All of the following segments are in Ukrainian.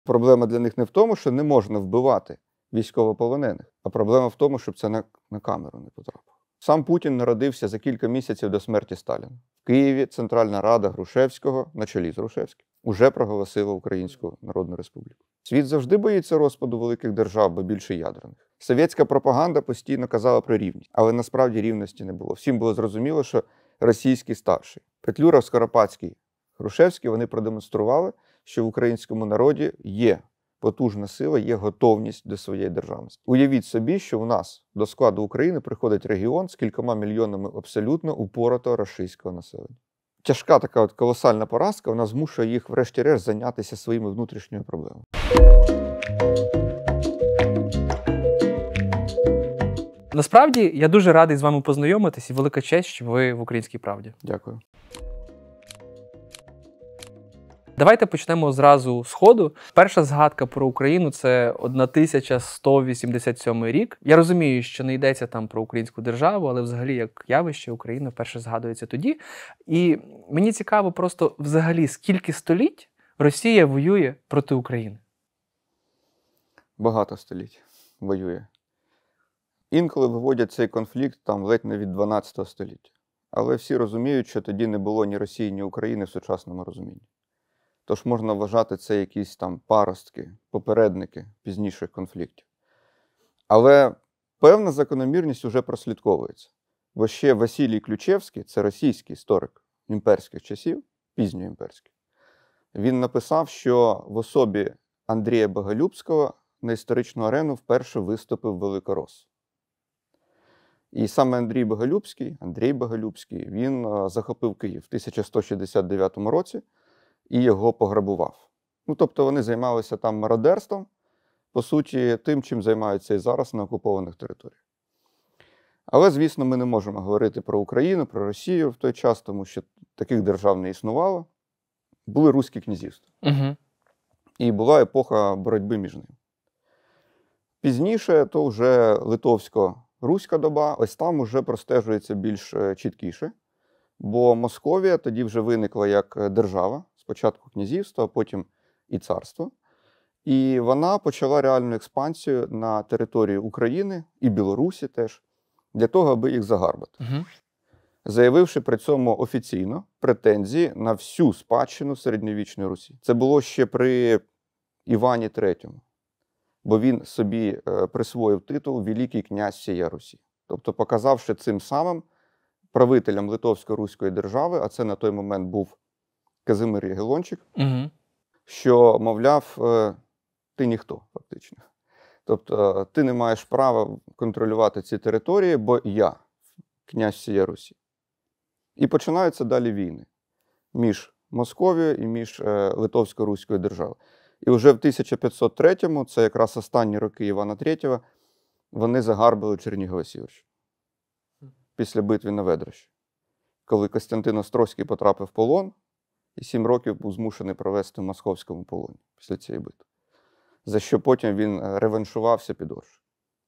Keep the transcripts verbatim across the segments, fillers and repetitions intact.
Проблема для них не в тому, що не можна вбивати військовополонених, а проблема в тому, щоб це на, на камеру не потрапило. Сам Путін народився за кілька місяців до смерті Сталіна. В Києві Центральна Рада Грушевського, на чолі з Грушевським, уже проголосила Українську Народну Республіку. Світ завжди боїться розпаду великих держав, бо більше ядерних. Совєтська пропаганда постійно казала про рівність, але насправді рівності не було. Всім було зрозуміло, що російський старший. Петлюра, Скоропадський, Грушевський, вони продемонстрували, що в українському народі є потужна сила, є готовність до своєї державності. Уявіть собі, що у нас до складу України приходить регіон з кількома мільйонами абсолютно упоротого рашистського населення. Тяжка така от колосальна поразка, вона змушує їх врешті-решт зайнятися своїми внутрішніми проблемами. Насправді, я дуже радий з вами познайомитись і велика честь, що ви в «Українській правді». Дякую. Давайте почнемо зразу з ходу. Перша згадка про Україну – це тисяча сто вісімдесят сьомий рік. Я розумію, що не йдеться там про українську державу, але взагалі як явище Україна вперше згадується тоді. І мені цікаво просто взагалі, скільки століть Росія воює проти України? Багато століть воює. Інколи виводять цей конфлікт там ледь не від дванадцятого століття. Але всі розуміють, що тоді не було ні Росії, ні України в сучасному розумінні. Тож можна вважати це якісь там паростки, попередники пізніших конфліктів. Але певна закономірність вже прослідковується. Бо ще Василій Ключевський, це російський історик імперських часів, пізньоімперський, він написав, що в особі Андрія Боголюбського на історичну арену вперше виступив великорос. І саме Андрій Боголюбський, Андрій Боголюбський, він захопив Київ в тисяча сто шістдесят дев'ятому році, і його пограбував. Ну, тобто вони займалися там мародерством, по суті, тим, чим займаються і зараз на окупованих територіях. Але, звісно, ми не можемо говорити про Україну, про Росію в той час, тому що таких держав не існувало. Були руські князівства. Угу. І була епоха боротьби між ними. Пізніше то вже литовсько-руська доба, ось там вже простежується більш чіткіше, бо Московія тоді вже виникла як держава, спочатку князівство, а потім і царство. І вона почала реальну експансію на території України і Білорусі теж, для того, аби їх загарбати. Угу. Заявивши при цьому офіційно претензії на всю спадщину середньовічної Русі. Це було ще при Івані третьому, бо він собі присвоїв титул «Великий князь всієї Русі». Тобто показавши цим самим правителям Литовсько-Руської держави, а це на той момент був Казимир Ягелончик, угу. що, мовляв, ти ніхто, фактично. Тобто ти не маєш права контролювати ці території, бо я князь всієї Русі. І починаються далі війни між Московією і між Литовсько-Руською державою. І вже в тисяча п'ятсот третьому, це якраз останні роки Івана третього, вони загарбили Чернігів-Сіверщину після битви на Ведрощі, коли Костянтин Острозький потрапив в полон і сім років був змушений провести в московському полоні після цієї битви, за що потім він реваншувався під Оршею.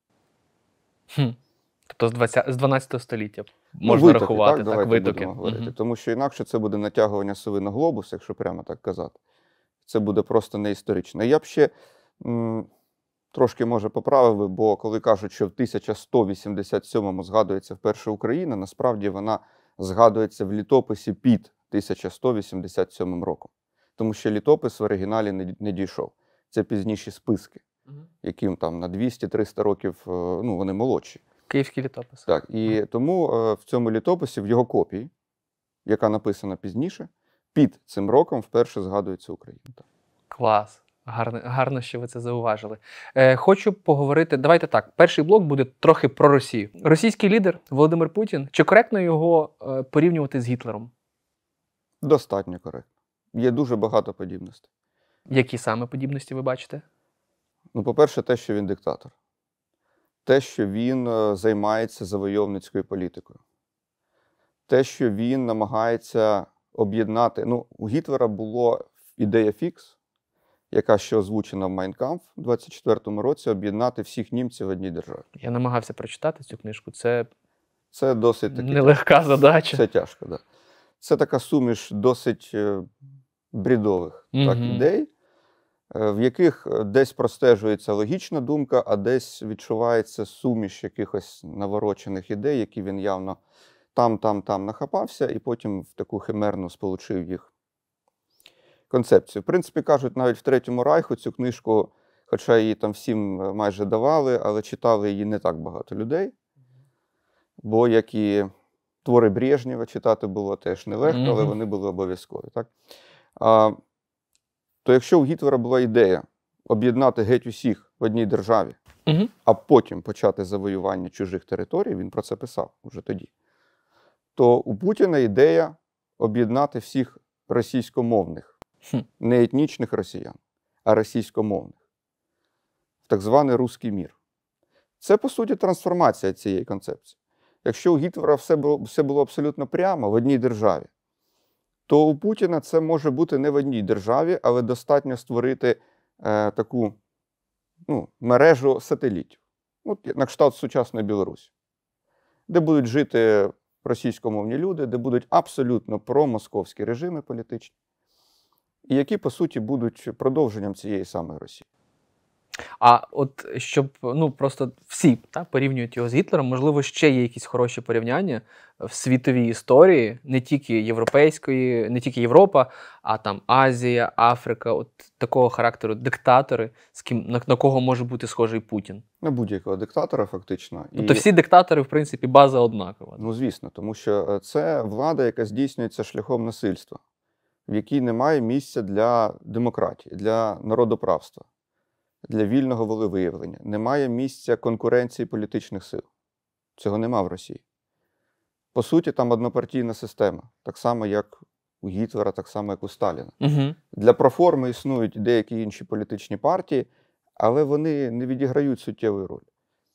Хм. Тобто з дванадцятого століття можна ну, витоки, рахувати, так, так, витоки. Угу. Тому що інакше це буде натягування сови на глобус, якщо прямо так казати. Це буде просто не історично. Я б ще м, трошки, може, поправив, бо коли кажуть, що в тисяча сто вісімдесят сьомому згадується вперше Україна, насправді вона згадується в літописі під тисяча сто вісімдесят сьомим роком. Тому що літопис в оригіналі не, не дійшов. Це пізніші списки, угу. яким там на двісті-триста років, ну, вони молодші. Київський літопис. Так, і угу. тому в цьому літописі, в його копії, яка написана пізніше, під цим роком вперше згадується Україна. Клас. Гарно, гарно, що ви це зауважили. Е, хочу поговорити, давайте так, перший блок буде трохи про Росію. Російський лідер Володимир Путін, чи коректно його е, порівнювати з Гітлером? Достатньо коректно. Є дуже багато подібностей. Які саме подібності ви бачите? Ну, по-перше, те, що він диктатор. Те, що він е, займається завойовницькою політикою. Те, що він намагається об'єднати. Ну, у Гітлера була ідея фікс, яка ще озвучена в «Майн Кампф» у двадцять четвертому році, об'єднати всіх німців в одній державі. Я намагався прочитати цю книжку. Це, це досить таки, нелегка задача. Це тяжко, так. Да. Це така суміш досить бредових угу. так, ідей. в яких десь простежується логічна думка, а десь відчувається суміш якихось наворочених ідей, які він явно там, там, там нахапався, і потім в таку химерну сполучив їх концепцію. В принципі, кажуть, навіть в Третьому Райху цю книжку, хоча її там всім майже давали, але читали її не так багато людей, бо як і твори Брежнєва читати було теж нелегко, mm-hmm. але вони були обов'язкові. Так? А, то якщо у Гітлера була ідея об'єднати геть усіх в одній державі, mm-hmm. а потім почати завоювання чужих територій, він про це писав уже тоді, то у Путіна ідея об'єднати всіх російськомовних, mm-hmm. не етнічних росіян, а російськомовних, в так званий «русський мір». Це, по суті, трансформація цієї концепції. Якщо у Гітлера все було, все було абсолютно прямо в одній державі, то у Путіна це може бути не в одній державі, але достатньо створити е, таку ну, мережу сателітів, ну, на кшталт сучасної Білорусі, де будуть жити російськомовні люди, де будуть абсолютно промосковські режими політичні, і які, по суті, будуть продовженням цієї самої Росії. А от щоб, ну, просто всі та, порівнюють його з Гітлером, можливо, ще є якісь хороші порівняння в світовій історії, не тільки європейської, не тільки Європа, а там Азія, Африка, от такого характеру диктатори, з ким, на, на кого може бути схожий Путін? На будь-якого диктатора, фактично. Тобто І... всі диктатори, в принципі, база однакова. Ну, звісно, тому що це влада, яка здійснюється шляхом насильства, в якій немає місця для демократії, для народоправства, для вільного волевиявлення. Немає місця конкуренції політичних сил. Цього нема в Росії. По суті, там однопартійна система. Так само, як у Гітлера, так само, як у Сталіна. Угу. Для проформи існують деякі інші політичні партії, але вони не відіграють суттєвої ролі.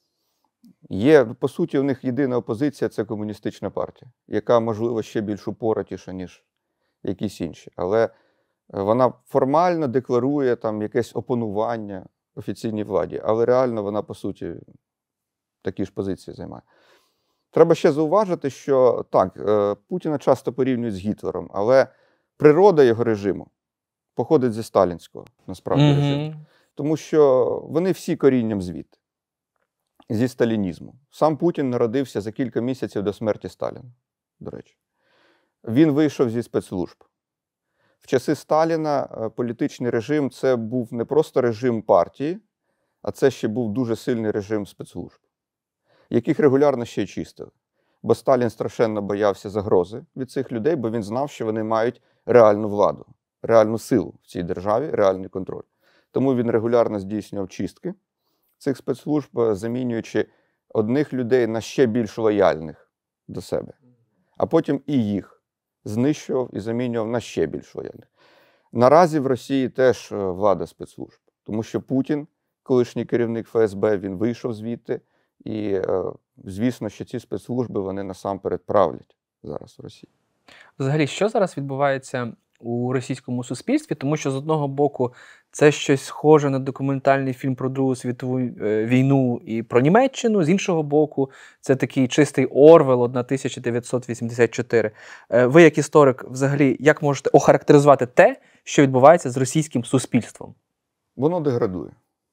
Є, по суті, у них єдина опозиція – це комуністична партія, яка, можливо, ще більш упоротіша, ніж якісь інші. Але вона формально декларує там якесь опонування офіційній владі, але реально вона, по суті, такі ж позиції займає. Треба ще зауважити, що так, Путіна часто порівнюють з Гітлером, але природа його режиму походить зі сталінського, насправді, mm-hmm. режиму. Тому що вони всі корінням звідти, зі сталінізму. Сам Путін народився за кілька місяців до смерті Сталіна, до речі. Він вийшов зі спецслужб. В часи Сталіна політичний режим – це був не просто режим партії, а це ще був дуже сильний режим спецслужб, яких регулярно ще й чистили. Бо Сталін страшенно боявся загрози від цих людей, бо він знав, що вони мають реальну владу, реальну силу в цій державі, реальний контроль. Тому він регулярно здійснював чистки цих спецслужб, замінюючи одних людей на ще більш лояльних до себе, а потім і їх знищував і замінював на ще більш лояльних. Наразі в Росії теж влада спецслужб, тому що Путін, колишній керівник Ф С Б, він вийшов звідти, і, звісно, що ці спецслужби, вони насамперед правлять зараз в Росії. Взагалі, що зараз відбувається у російському суспільстві? Тому що, з одного боку, це щось схоже на документальний фільм про Другу світову війну і про Німеччину, з іншого боку, це такий чистий Орвел тисяча дев'ятсот вісімдесят чотири. Ви, як історик, взагалі, як можете охарактеризувати те, що відбувається з російським суспільством? Воно деградує.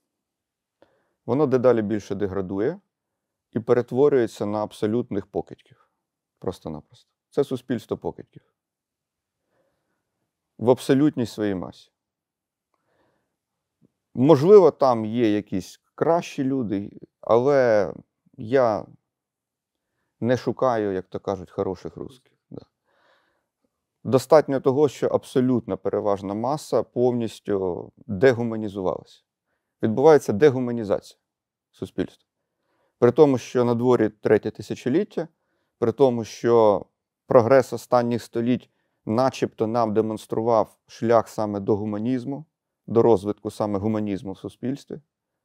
Воно дедалі більше деградує і перетворюється на абсолютних покидьків. Просто-напросто. Це суспільство покидьків. В абсолютній своїй масі. Можливо, там є якісь кращі люди, але я не шукаю, як то кажуть, хороших русських. Да. Достатньо того, що абсолютна переважна маса повністю дегуманізувалася. Відбувається дегуманізація суспільства. При тому, що на дворі третє тисячоліття, при тому, що прогрес останніх століть начебто нам демонстрував шлях саме до гуманізму, до розвитку саме гуманізму в суспільстві.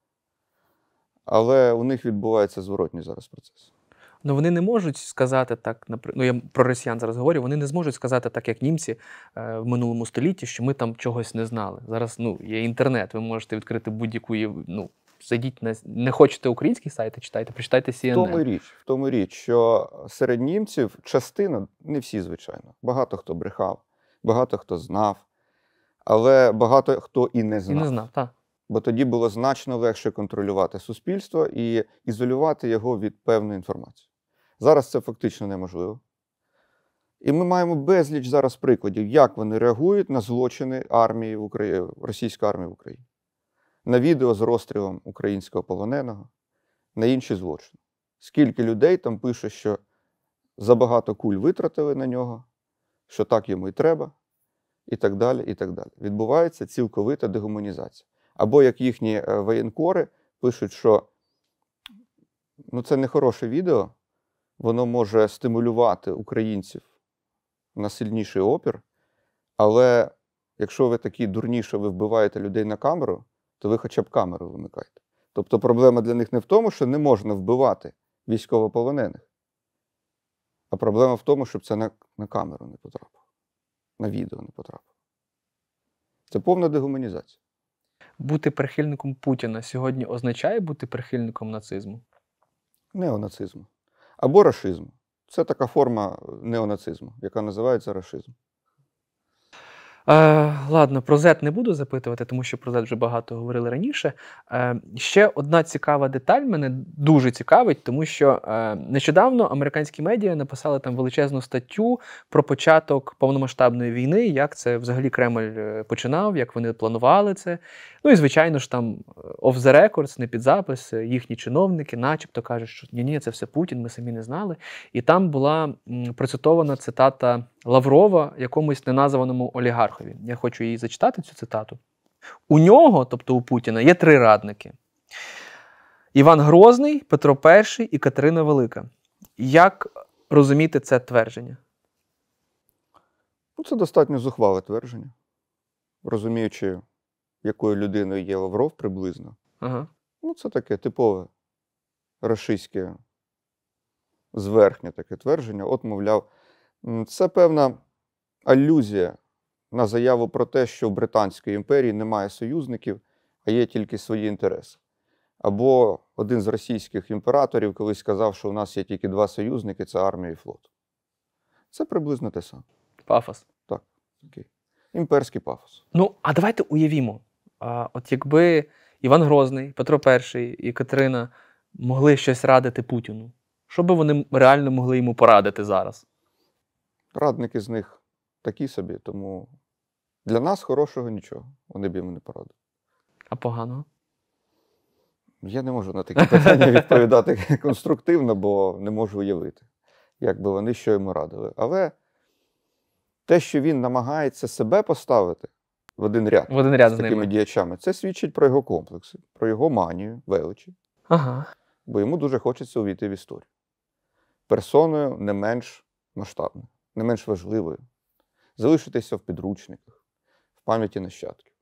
Але у них відбувається зворотній зараз процес. Ну вони не можуть сказати так, ну я про росіян зараз говорю, вони не зможуть сказати так, як німці е, в минулому столітті, що ми там чогось не знали. Зараз ну, є інтернет, ви можете відкрити будь-яку, ну, зайдіть на, не хочете українські сайти, читайте, прочитайте Сі Ен Ен. В тому річ, в тому річ, що серед німців частина, не всі, звичайно, багато хто брехав, багато хто знав, Але багато хто і не І знав. не знав, так. Бо тоді було значно легше контролювати суспільство і ізолювати його від певної інформації. Зараз це фактично неможливо. І ми маємо безліч зараз прикладів, як вони реагують на злочини армії в Україні, російської армії в Україні. На відео з розстрілом українського полоненого, на інші злочини. Скільки людей там пише, що забагато куль витратили на нього, що так йому і треба, і так далі, і так далі. Відбувається цілковита дегуманізація. Або як їхні воєнкори пишуть, що ну, це не хороше відео, воно може стимулювати українців на сильніший опір, але якщо ви такі дурні, що ви вбиваєте людей на камеру, то ви хоча б камеру вимикаєте. Тобто проблема для них не в тому, що не можна вбивати військовополонених, а проблема в тому, щоб це на, на камеру не потрапило, на відео не потрапило. Це повна дегуманізація. Бути прихильником Путіна сьогодні означає бути прихильником нацизму? Неонацизму. Або рашизму. Це така форма неонацизму, яка називається рашизм. Е, ладно, про зет не буду запитувати, тому що про зет вже багато говорили раніше. Е, ще одна цікава деталь мене дуже цікавить, тому що е, нещодавно американські медіа написали там величезну статтю про початок повномасштабної війни, як це взагалі Кремль починав, як вони планували це. Ну і, звичайно ж, там off the records, не під запис, їхні чиновники начебто кажуть, що ні-ні, це все Путін, ми самі не знали. І там була м, процитована цитата Лаврова якомусь неназваному олігархові. Я хочу її зачитати, цю цитату. У нього, тобто у Путіна, є три радники. Іван Грозний, Петро І і Катерина Велика. Як розуміти це твердження? Ну, це достатньо зухвале твердження. Розуміючи, якою людиною є Лавров приблизно. Ага. Ну, це таке типове рашистське, зверхнє таке твердження. От, мовляв, це певна алюзія на заяву про те, що в Британській імперії немає союзників, а є тільки свої інтереси. Або один з російських імператорів колись сказав, що у нас є тільки два союзники – це армія і флот. Це приблизно те саме. Пафос. Так, такий імперський пафос. Ну, а давайте уявімо. А, от якби Іван Грозний, Петро І і Катерина могли щось радити Путіну, що би вони реально могли йому порадити зараз? Радники з них такі собі, тому для нас хорошого нічого. Вони б йому не порадили. А поганого? Я не можу на такі питання відповідати конструктивно, бо не можу уявити, як би вони що йому радили. Але те, що він намагається себе поставити в один ряд, В один ряд з з такими ними. діячами, це свідчить про його комплекси, про його манію, величі. Ага. Бо йому дуже хочеться увійти в історію. Персоною не менш масштабною, не менш важливою. Залишитися в підручниках, в пам'яті нащадків.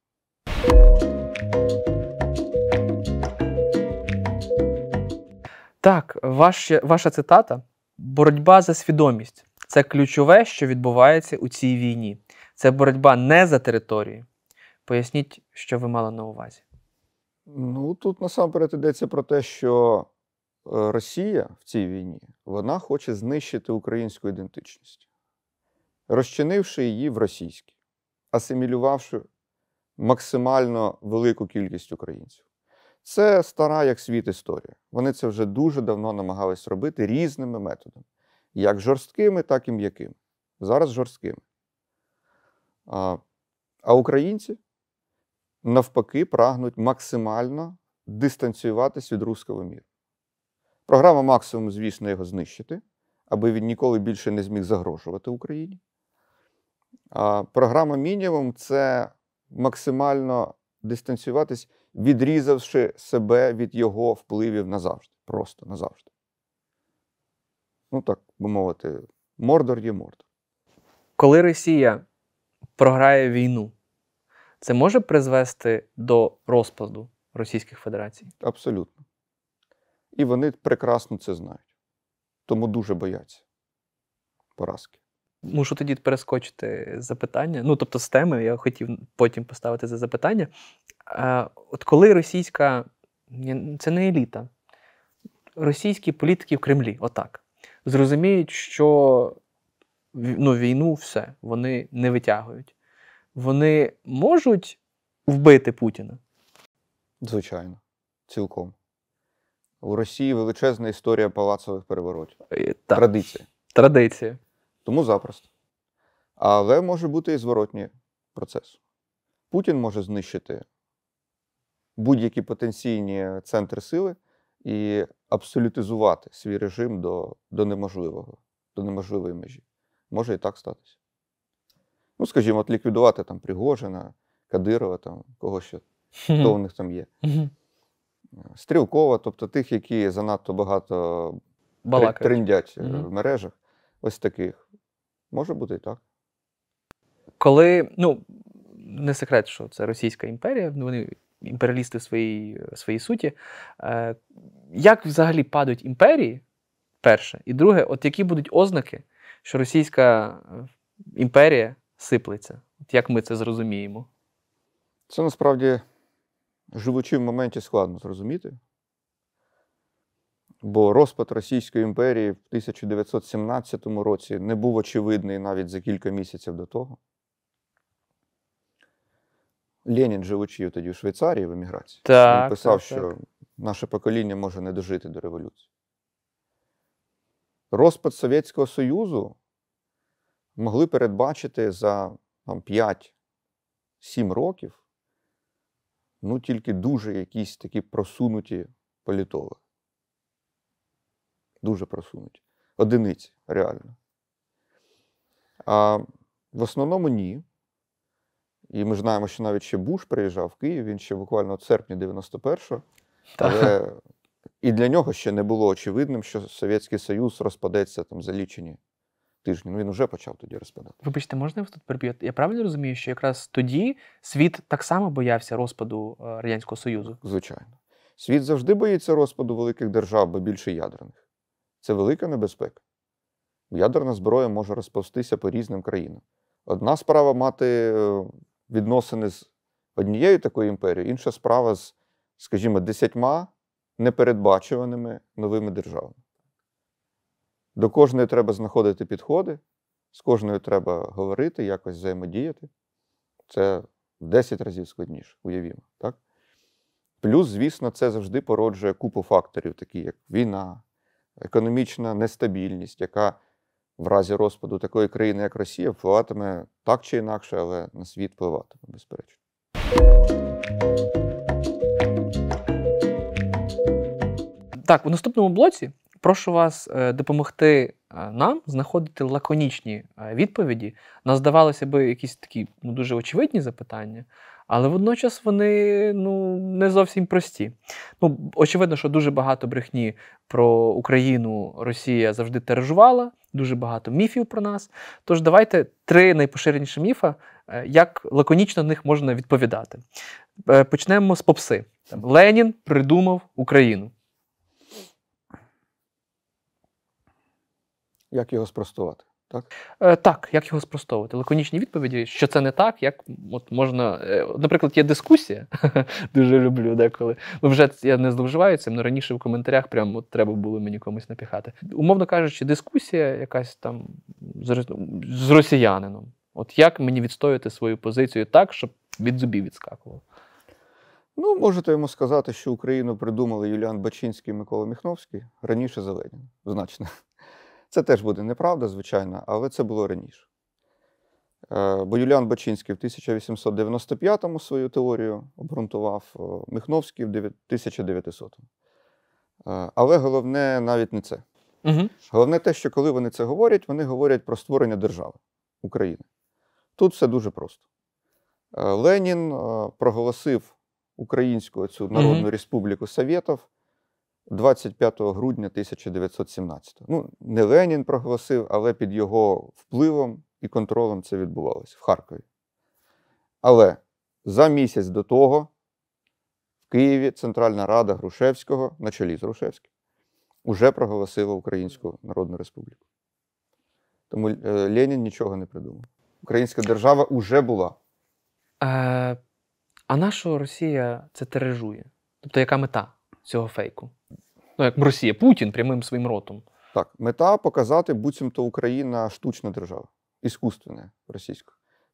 Так, ваш, ваша цитата «Боротьба за свідомість» – це ключове, що відбувається у цій війні. Це боротьба не за територію. Поясніть, що ви мали на увазі. Ну, тут насамперед йдеться про те, що Росія в цій війні, вона хоче знищити українську ідентичність, розчинивши її в російській, асимілювавши максимально велику кількість українців. Це стара як світ історія. Вони це вже дуже давно намагались робити різними методами. Як жорсткими, так і м'якими. Зараз жорсткими. А, а українці, навпаки, прагнуть максимально дистанціюватись від руського міру. Програма максимум, звісно, його знищити, аби він ніколи більше не зміг загрожувати Україні. А програма мінімум – це максимально дистанціюватись, відрізавши себе від його впливів назавжди. Просто назавжди. Ну так, би мовити, Мордор є Мордор. Коли Росія програє війну, це може призвести до розпаду Російської Федерації? Абсолютно. І вони прекрасно це знають. Тому дуже бояться поразки. Мушу тоді перескочити запитання. Ну, тобто з теми, я хотів потім поставити за запитання. А, от коли російська, це не еліта, російські політики в Кремлі, отак, зрозуміють, що ну, війну все, вони не витягують. вони можуть вбити Путіна? Звичайно, цілком. У Росії величезна історія палацових переворотів. Е, Так, Традиція. традиція. Тому запросто. Але може бути і зворотній процес. Путін може знищити будь-які потенційні центри сили і абсолютизувати свій режим до, до неможливого, до неможливої межі. Може і так статися. Ну, скажімо, от ліквідувати там Пригожина, Кадирова, там, кого ще, хто у них там є. Мгм. Стрілкова, тобто тих, які занадто багато тр- Балакають. трендять е, Мгм. в мережах. Ось таких. Може бути і так. Коли, ну, не секрет, що це Російська імперія, вони імперіалісти в своїй, своїй суті. Е, як взагалі падають імперії, перше, і друге, от які будуть ознаки, що Російська е, імперія сиплеться? От як ми це зрозуміємо? Це насправді, живучи в моменті, складно зрозуміти. Бо розпад Російської імперії в тисяча дев'ятсот сімнадцятому році не був очевидний навіть за кілька місяців до того. Ленін, живучи тоді в Швейцарії в еміграції, Так, він писав, так, що так. наше покоління може не дожити до революції. Розпад Совєтського Союзу могли передбачити за там, п'ять-сім років, ну, тільки дуже якісь такі просунуті політологи. Дуже просунуті. Одиниці, реально. А в основному ні. І ми знаємо, що навіть ще Буш приїжджав в Київ, він ще буквально в серпні дев'яносто першого. Але і для нього ще не було очевидним, що Совєтський Союз розпадеться там за лічені тижні. Ну, він вже почав тоді розпадати. Вибачте, можна я вас тут переб'ю? Я правильно розумію, що якраз тоді світ так само боявся розпаду е, Радянського Союзу? Звичайно. Світ завжди боїться розпаду великих держав, бо більше ядерних. Це велика небезпека. Ядерна зброя може розповстися по різним країнам. Одна справа мати е, відносини з однією такою імперією, інша справа з, скажімо, десятьма непередбачуваними новими державами. До кожної треба знаходити підходи, з кожною треба говорити, якось взаємодіяти. Це в десять разів складніше, уявімо. Так? Плюс, звісно, це завжди породжує купу факторів, такі як війна, економічна нестабільність, яка в разі розпаду такої країни, як Росія, впливатиме так чи інакше, але на світ впливатиме, безперечно. Так, у наступному блоці прошу вас е, допомогти е, нам знаходити лаконічні е, відповіді на, здавалося би, якісь такі ну, дуже очевидні запитання, але водночас вони ну, не зовсім прості. Ну, очевидно, що дуже багато брехні про Україну Росія завжди тиражувала, дуже багато міфів про нас. Тож давайте три найпоширеніші міфа, е, як лаконічно на них можна відповідати. Е, почнемо з попси. Там, Ленін придумав Україну. Як його спростувати? Так? Е, так, як його спростовувати? Лаконічні відповіді, що це не так, як от можна. Е, наприклад, є дискусія, дуже люблю деколи. Ну, вже я не зловживаю цим, але раніше в коментарях прям от треба було мені комусь напіхати. Умовно кажучи, дискусія якась там з, рос- з росіянином. От як мені відстояти свою позицію так, щоб від зубів відскакувало? Ну, можете йому сказати, що Україну придумали Юліан Бачинський і Микола Міхновський раніше за Леніна. Значно. Це теж буде неправда, звичайно, але це було раніше. Е, Бо Юліан Бачинський в тисяча вісімсот дев'яносто п'ятому свою теорію обґрунтував, е, Міхновський в тисяча дев'ятисотому. Е, Але головне навіть не це. Угу. Головне те, що коли вони це говорять, вони говорять про створення держави України. Тут все дуже просто. Е, Ленін е, проголосив Українську цю Народну Мгм. Республіку Совєтів двадцять п'ятого грудня тисяча дев'ятсот сімнадцятого. Ну, не Ленін проголосив, але під його впливом і контролем це відбувалося в Харкові. Але за місяць до того в Києві Центральна Рада Грушевського, на чолі з Грушевським, уже проголосила Українську Народну Республіку. Тому е, Ленін нічого не придумав. Українська держава уже була. Е, а на що Росія це тиражує? Тобто, яка мета цього фейку? Ну, як Росія, Путін прямим своїм ротом. Так, мета показати, буцімто Україна штучна держава, іскусственна російська.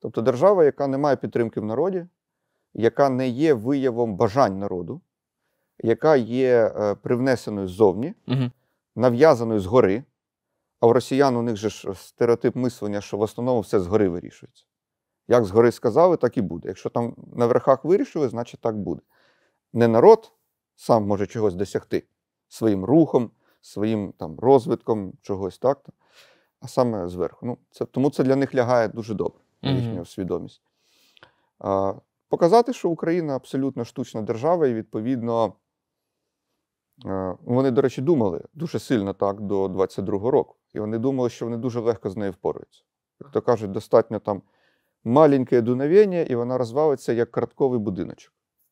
Тобто держава, яка не має підтримки в народі, яка не є виявом бажань народу, яка є е, привнесеною ззовні, Угу. нав'язаною згори. А у росіян у них же ж стереотип мислення, що в основному все згори вирішується. Як згори сказали, так і буде. Якщо там на верхах вирішили, значить так буде. Не народ сам може чогось досягти своїм рухом, своїм там, розвитком чогось, так? А саме зверху. Ну, це, тому це для них лягає дуже добре, на Мгм. їхню свідомість. А, показати, що Україна абсолютно штучна держава, і відповідно е, вони, до речі, думали дуже сильно так до двадцять другого року. І вони думали, що вони дуже легко з нею впораються. Як то кажуть, достатньо там маленьке дуновення, і вона розвалиться як картковий будиночок.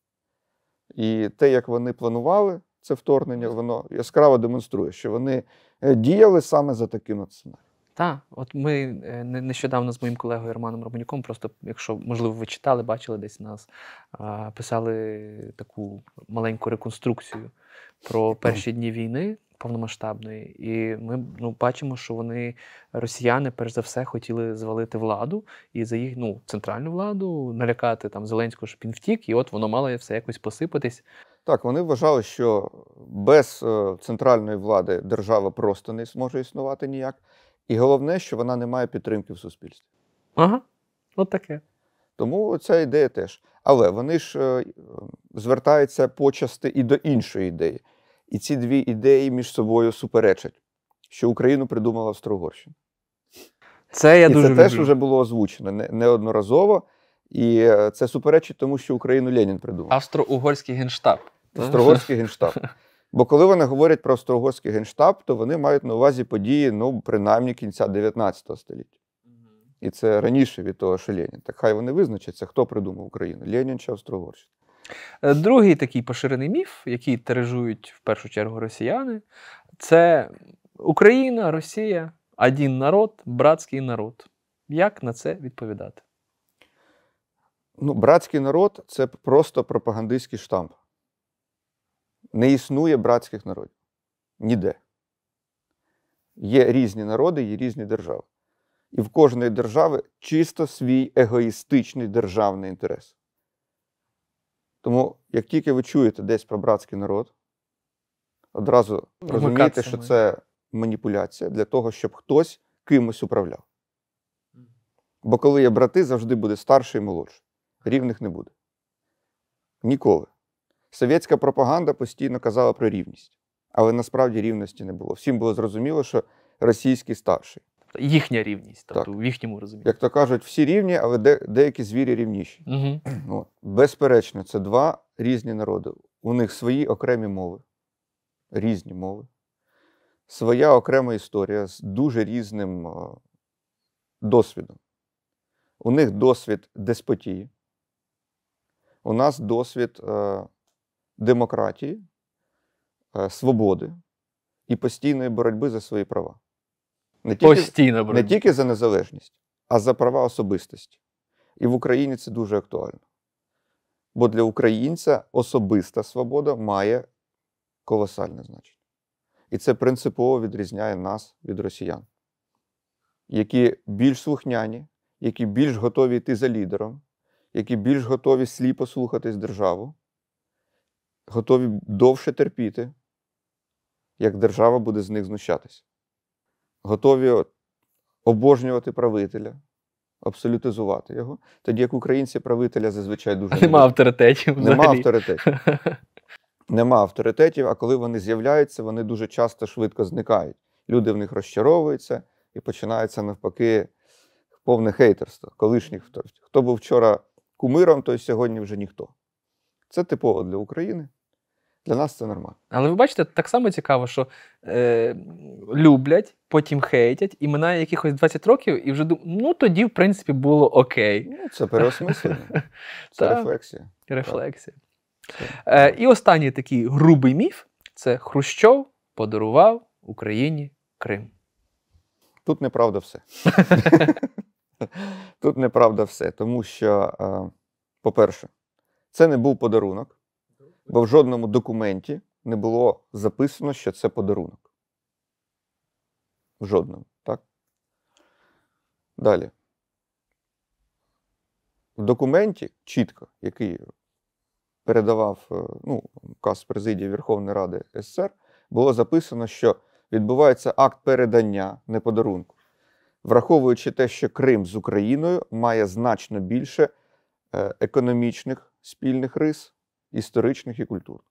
І те, як вони планували це вторгнення, воно яскраво демонструє, що вони е, діяли саме за таким от сценарієм. Так, от ми е, не- нещодавно з моїм колегою Романом Романюком, просто, якщо, можливо, ви читали, бачили десь нас, а, писали таку маленьку реконструкцію про перші дні війни повномасштабної. І ми ну, бачимо, що вони, росіяни, перш за все, хотіли звалити владу і за їх ну, центральну владу, налякати там Зеленського, щоб він втік, і от воно мало все якось посипатись. Так, вони вважали, що без е, центральної влади держава просто не зможе існувати ніяк. І головне, що вона не має підтримки в суспільстві. Ага, от таке. Тому ця ідея теж. Але вони ж е, звертаються почасти і до іншої ідеї. І ці дві ідеї між собою суперечать, що Україну придумала Австро-Угорщина. Це я І дуже це теж люблю. вже було озвучено не- неодноразово. І е, це суперечить тому, що Україну Ленін придумав. Австро-угорський генштаб. Австро-Угорський генштаб. Бо коли вони говорять про Австро-Угорський генштаб, то вони мають на увазі події, ну, принаймні, кінця дев'ятнадцятого століття. І це раніше від того, що Ленін. Так хай вони визначаться, хто придумав Україну, Ленін чи Австро-Угорщина. Е, Другий такий поширений міф, який тиражують в першу чергу росіяни, це Україна, Росія, один народ, братський народ. Як на це відповідати? Ну, братський народ – це просто пропагандистський штамп. Не існує братських народів. Ніде. Є різні народи, є різні держави. І в кожної держави чисто свій егоїстичний державний інтерес. Тому, як тільки ви чуєте десь про братський народ, одразу розумієте, Вмикатися що має. це маніпуляція для того, щоб хтось кимось управляв. Бо коли є брати, завжди буде старший і молодший. Рівних не буде. Ніколи. Совєтська пропаганда постійно казала про рівність. Але насправді рівності не було. Всім було зрозуміло, що російський старший. Їхня рівність, тобто Так. в їхньому розумінні. Як то кажуть, всі рівні, але де, деякі звірі рівніші. Угу. От. Безперечно, це два різні народи. У них свої окремі мови, різні мови, своя окрема історія з дуже різним е, досвідом. У них досвід деспотії, у нас досвід е, демократії, е, свободи і постійної боротьби за свої права. Не тільки, Постійно не боротьба. тільки за незалежність, а за права особистості. І в Україні це дуже актуально. Бо для українця особиста свобода має колосальне значення. І це принципово відрізняє нас від росіян, які більш слухняні, які більш готові йти за лідером, які більш готові сліпо слухатись державу, готові довше терпіти, як держава буде з них знущатися. Готові обожнювати правителя, абсолютизувати його, тоді як українці правителя зазвичай дуже не Нема люблять. авторитетів взагалі. Нема авторитетів. Нема авторитетів, а коли вони з'являються, вони дуже часто швидко зникають. Люди в них розчаровуються і починається навпаки повне хейтерство. Колишніх, хто, хто був вчора кумиром, той сьогодні вже ніхто. Це типово для України. Для нас це нормально. Але ви бачите, так само цікаво, що е, люблять, потім хейтять, і минає якихось двадцять років, і вже думають, ну тоді, в принципі, було окей. Ну, це переосмислення, це Так. рефлексія. Рефлексія. Це- Е, і останній такий грубий міф – це Хрущов подарував Україні Крим. Тут неправда все. Тут неправда все, тому що, е, по-перше, це не був подарунок, бо в жодному документі не було записано, що це подарунок. В жодному, так? Далі. в документі чітко, який передавав ну, указ президії Верховної Ради СССР, було записано, що відбувається акт передання, не подарунку, враховуючи те, що Крим з Україною має значно більше економічних спільних рис, історичних і культурних.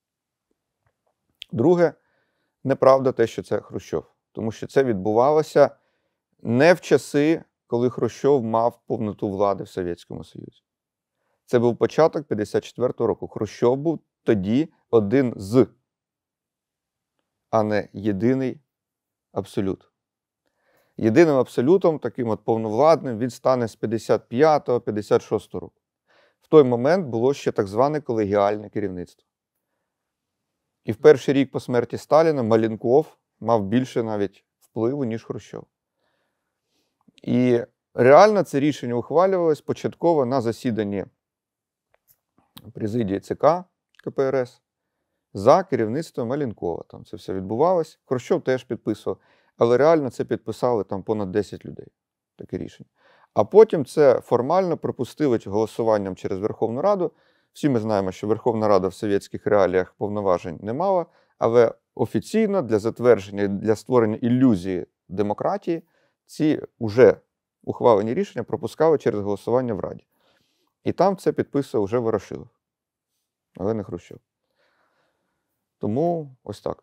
Друге, неправда те, що це Хрущов. Тому що це відбувалося не в часи, коли Хрущов мав повноту влади в Совєтському Союзі. Це був початок п'ятдесят четвертого року. Хрущов був тоді один з, а не єдиний абсолют. Єдиним абсолютом, таким от повновладним, він стане з п'ятдесят п'ятого - п'ятдесят шостого року. В той момент було ще так зване колегіальне керівництво. І в перший рік по смерті Сталіна Маленков мав більше навіть впливу, ніж Хрущов. І реально це рішення ухвалювалось початково на засіданні президії ЦК КПРС за керівництвом Маленкова. Там це все відбувалось. Хрущов теж підписував, але реально це підписали там понад десять людей, таке рішення. А потім це формально пропустили голосуванням через Верховну Раду. Всі ми знаємо, що Верховна Рада в совєтських реаліях повноважень не мала, але офіційно для затвердження, для створення ілюзії демократії ці вже ухвалені рішення пропускали через голосування в Раді. І там це підписував вже Ворошилов, але не Хрущов. Тому ось так.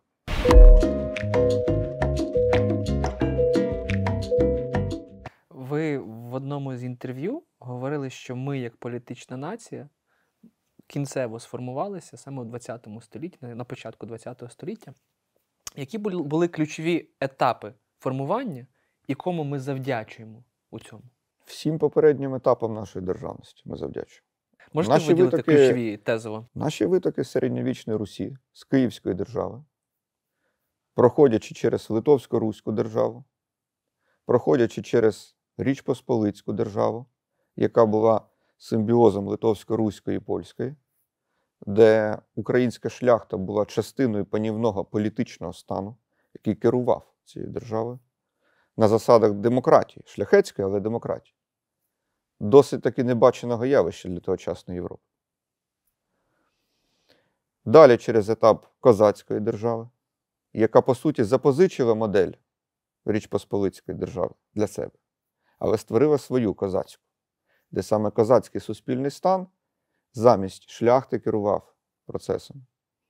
Ви в одному з інтерв'ю говорили, що ми, як політична нація, кінцево сформувалися саме у двадцятому столітті, на початку двадцятого століття. Які були ключові етапи формування і кому ми завдячуємо у цьому? Всім попереднім етапам нашої державності ми завдячуємо. Можете наші виділити витоки, ключові тезово? Наші витоки з середньовічної Русі, з Київської держави, проходячи через Литовсько-Руську державу, проходячи через Річ Посполицьку державу, яка була симбіозом Литовсько-Руської і Польської, де українська шляхта була частиною панівного політичного стану, який керував цією державою, на засадах демократії, шляхетської, але демократії. Досить таки небаченого явища для тогочасної Європи. Далі через етап козацької держави, яка, по суті, запозичила модель Річ Посполицької держави для себе, але створила свою козацьку, де саме козацький суспільний стан замість шляхти керував процесом.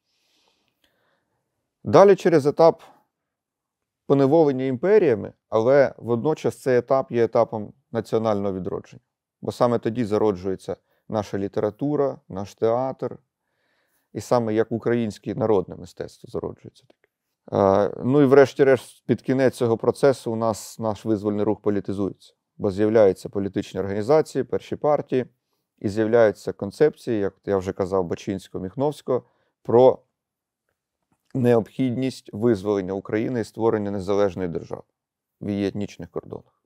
Далі через етап поневолення імперіями, але водночас цей етап є етапом національного відродження. Бо саме тоді зароджується наша література, наш театр, і саме як українське народне мистецтво зароджується таке. Ну і врешті-решт, під кінець цього процесу у нас наш визвольний рух політизується, бо з'являються політичні організації, перші партії, і з'являються концепції, як я вже казав, Бачинського, Міхновського, про необхідність визволення України і створення незалежної держави в її етнічних кордонах.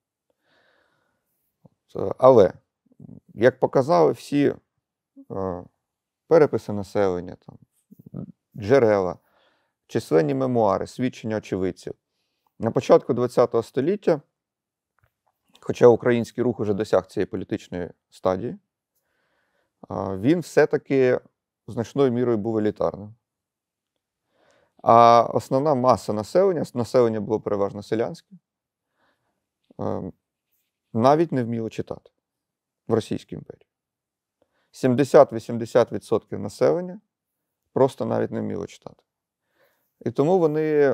Але, як показали всі переписи населення, там, джерела, численні мемуари, свідчення очевидців, на початку ХХ століття, хоча український рух уже досяг цієї політичної стадії, він все-таки значною мірою був елітарним. А основна маса населення, населення було переважно селянське, навіть не вміло читати в Російській імперії. сімдесят-вісімдесят відсотків населення просто навіть не вміло читати. І тому вони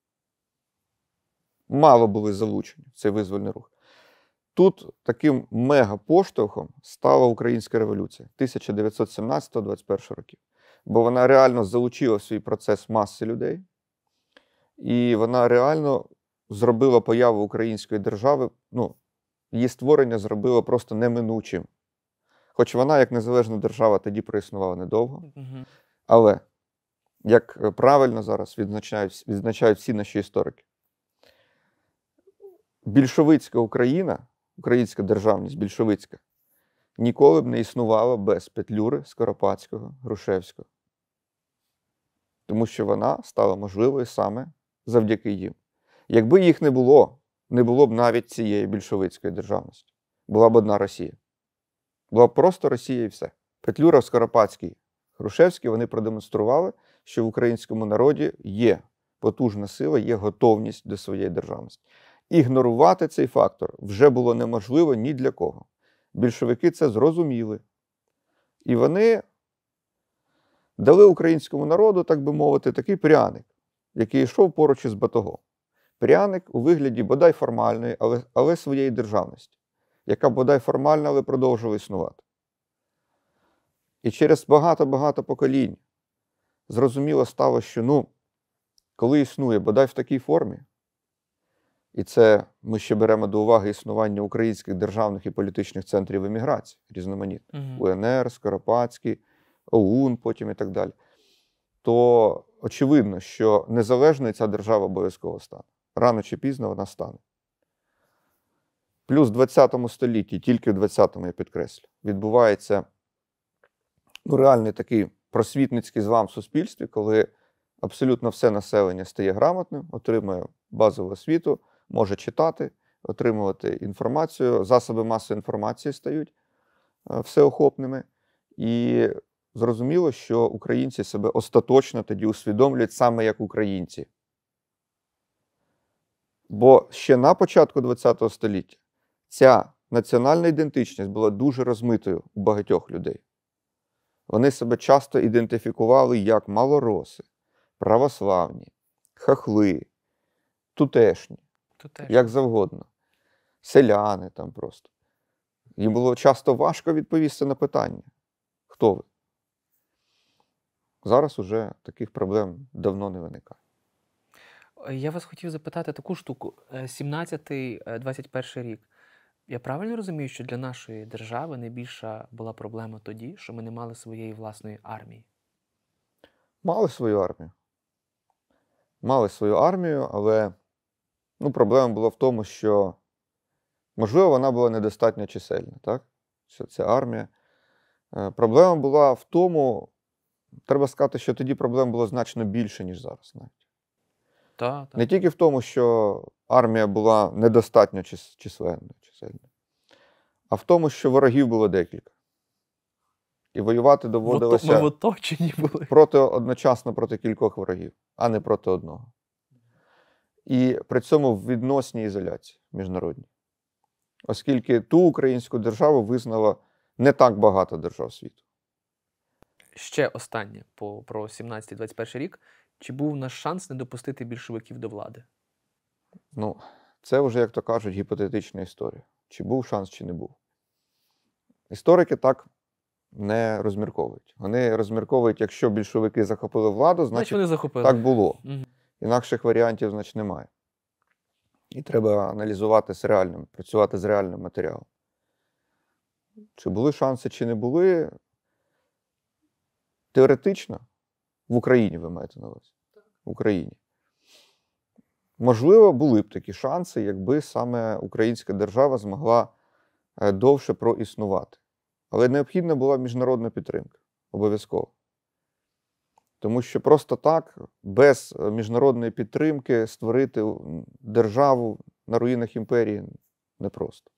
мало були залучені в цей визвольний рух. Тут таким мега-поштовхом стала Українська революція тисяча дев'ятсот сімнадцятого - двадцять першого років. Бо вона реально залучила в свій процес маси людей, і вона реально зробила появу української держави, ну, її створення зробило просто неминучим. Хоч вона, як незалежна держава, тоді проіснувала недовго. Угу. Але, як правильно зараз відзначають, відзначають всі наші історики, більшовицька Україна, українська державність більшовицька, ніколи б не існувала без Петлюри, Скоропадського, Грушевського. Тому що вона стала можливою саме завдяки їм. Якби їх не було, не було б навіть цієї більшовицької державності. Була б одна Росія. Була просто Росія і все. Петлюра, Скоропадський, Грушевський, вони продемонстрували, що в українському народі є потужна сила, є готовність до своєї державності. Ігнорувати цей фактор вже було неможливо ні для кого. Більшовики це зрозуміли. І вони дали українському народу, так би мовити, такий пряник, який йшов поруч із батогом. Пряник у вигляді бодай формальної, але, але своєї державності, яка бодай формальна, але продовжувала існувати. І через багато-багато поколінь зрозуміло стало, що, ну, коли існує бодай в такій формі, і це ми ще беремо до уваги існування українських державних і політичних центрів еміграції, різноманітних, Угу. УНР, Скоропадський, ОУН потім і так далі, то очевидно, що незалежною ця держава обов'язково стане. Рано чи пізно вона стане. Плюс в ХХ столітті, тільки в ХХ, я підкреслю, відбувається ну, реальний такий просвітницький злам в суспільстві, коли абсолютно все населення стає грамотним, отримує базову освіту, може читати, отримувати інформацію, засоби масової інформації стають всеохопними. І зрозуміло, що українці себе остаточно тоді усвідомлюють саме як українці. Бо ще на початку ХХ століття ця національна ідентичність була дуже розмитою у багатьох людей. Вони себе часто ідентифікували як малороси, православні, хахли, тутешні, Тутешні. як завгодно, селяни там просто. Їм було часто важко відповісти на питання, хто ви. Зараз уже таких проблем давно не виникає. Я вас хотів запитати таку штуку. сімнадцятий двадцять перший рік. Я правильно розумію, що для нашої держави найбільша була проблема тоді, що ми не мали своєї власної армії? Мали свою армію. Мали свою армію, але ну, проблема була в тому, що, можливо, вона була недостатньо чисельна, так? Що це армія. Е, Проблема була в тому, треба сказати, що тоді проблем було значно більше, ніж зараз навіть. Так, так. Не тільки в тому, що армія була недостатньо чис- численною, чисельною, а в тому, що ворогів було декілька. І воювати Ми доводилося в оточенні були. проти, одночасно проти кількох ворогів, а не проти одного. І при цьому в відносній ізоляції міжнародній. Оскільки ту українську державу визнало не так багато держав світу. Ще останнє по, про сімнадцятий двадцять перший рік. Чи був наш шанс не допустити більшовиків до влади? Ну, це вже, як то кажуть, гіпотетична історія. Чи був шанс, чи не був. Історики так не розмірковують. Вони розмірковують, якщо більшовики захопили владу, Значить, значить вони захопили. так було. Мгм. Інакших варіантів, значить, немає. І треба аналізувати з реальним, працювати з реальним матеріалом. Чи були шанси, чи не були? Теоретично, в Україні ви маєте на увазі. В Україні. Можливо, були б такі шанси, якби саме українська держава змогла е, довше проіснувати. Але необхідна була міжнародна підтримка. Обов'язково. Тому що просто так, без е, міжнародної підтримки створити м, державу на руїнах імперії непросто.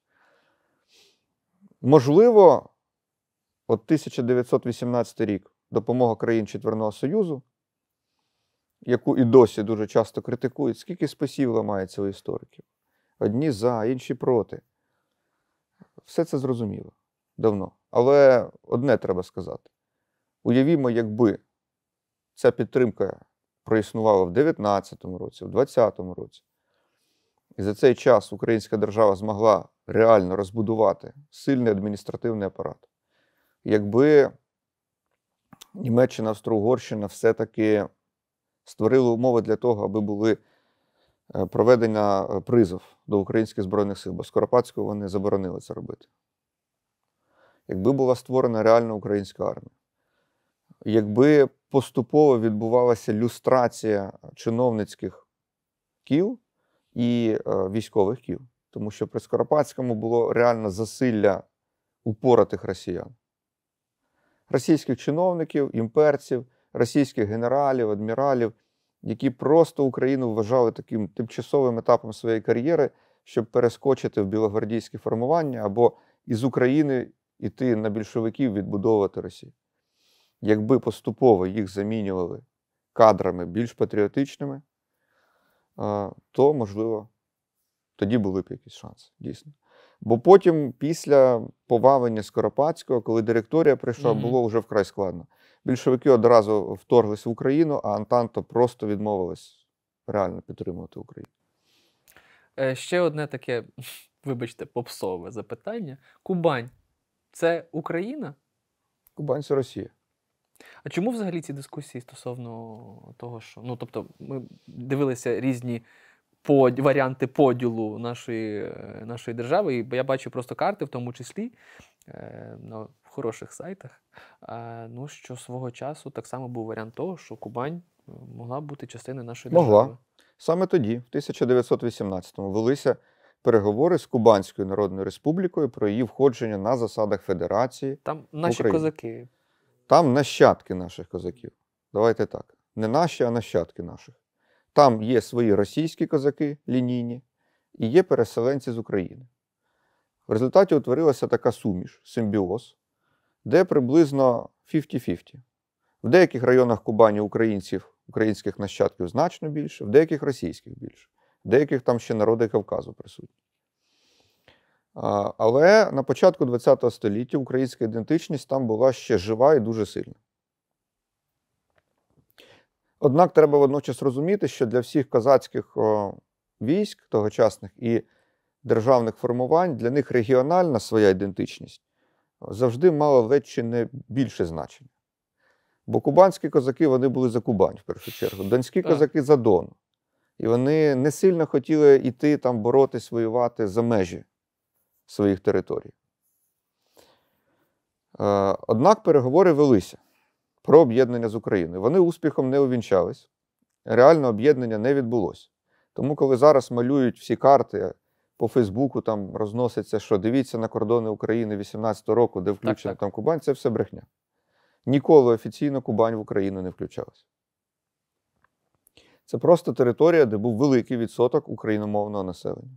Можливо, от тисяча дев'ятсот вісімнадцятий рік допомога країн Четверного Союзу, яку і досі дуже часто критикують, скільки спасів ламається у істориків. Одні за, інші проти. Все це зрозуміло давно. Але одне треба сказати. Уявімо, якби ця підтримка проіснувала в дев'ятнадцятому році, в двадцятому році, і за цей час українська держава змогла реально розбудувати сильний адміністративний апарат. Якби Німеччина, Австро-Угорщина все-таки створили умови для того, аби були е, проведення е, призов до українських Збройних сил, бо Скоропадського вони заборонили це робити. Якби була створена реальна українська армія, якби поступово відбувалася люстрація чиновницьких кіл і е, військових кіл, тому що при Скоропадському було реально засилля упоротих росіян. Російських чиновників, імперців, російських генералів, адміралів, які просто Україну вважали таким тимчасовим етапом своєї кар'єри, щоб перескочити в білогвардійське формування або із України іти на більшовиків, відбудовувати Росію. Якби поступово їх замінювали кадрами більш патріотичними, то, можливо, тоді були б якісь шанси, дійсно. Бо потім, після повалення Скоропадського, коли директорія прийшла, Мгм. було вже вкрай складно. Більшовики одразу вторглись в Україну, а Антанта просто відмовилась реально підтримувати Україну. Е, Ще одне таке, вибачте, попсове запитання. Кубань – це Україна? Кубань – це Росія. А чому взагалі ці дискусії стосовно того, що, ну, тобто, ми дивилися різні под... варіанти поділу нашої, е, нашої держави, і я бачу просто карти, в тому числі, е, на хороших сайтах, е, ну, що свого часу так само був варіант того, що Кубань е, могла бути частиною нашої Могла. держави. Саме тоді, в тисяча дев'ятсот вісімнадцятому, велися переговори з Кубанською Народною Республікою про її входження на засадах федерації. Там наші Україна. козаки. Там нащадки наших козаків. Давайте так. Не наші, а нащадки наших. Там є свої російські козаки лінійні і є переселенці з України. В результаті утворилася така суміш, симбіоз, де приблизно п'ятдесят на п'ятдесят. В деяких районах Кубані українців, українських нащадків значно більше, в деяких російських більше, в деяких там ще народи Кавказу присутні. Але на початку ХХ століття українська ідентичність там була ще жива і дуже сильна. Однак треба водночас розуміти, що для всіх козацьких о, військ тогочасних і державних формувань, для них регіональна своя ідентичність завжди мала ледь чи не більше значення. Бо кубанські козаки, вони були за Кубань, в першу чергу. Донські Так. козаки за Дон. І вони не сильно хотіли йти там боротись, воювати за межі своїх територій. Е, Однак переговори велися про об'єднання з Україною. Вони успіхом не увінчались. Реально об'єднання не відбулося. Тому, коли зараз малюють всі карти, по Фейсбуку там розноситься, що дивіться на кордони України вісімнадцятого року, де включена так. там Кубань, це все брехня. Ніколи офіційно Кубань в Україну не включалась. Це просто територія, де був великий відсоток україномовного населення.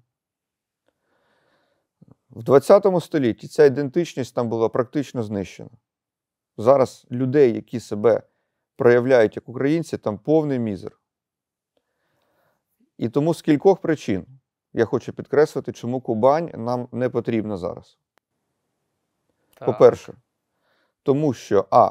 В ХХ столітті ця ідентичність там була практично знищена. Зараз людей, які себе проявляють як українці, там повний мізер. І тому з кількох причин я хочу підкреслити, чому Кубань нам не потрібна зараз. Так. По-перше, тому що, а,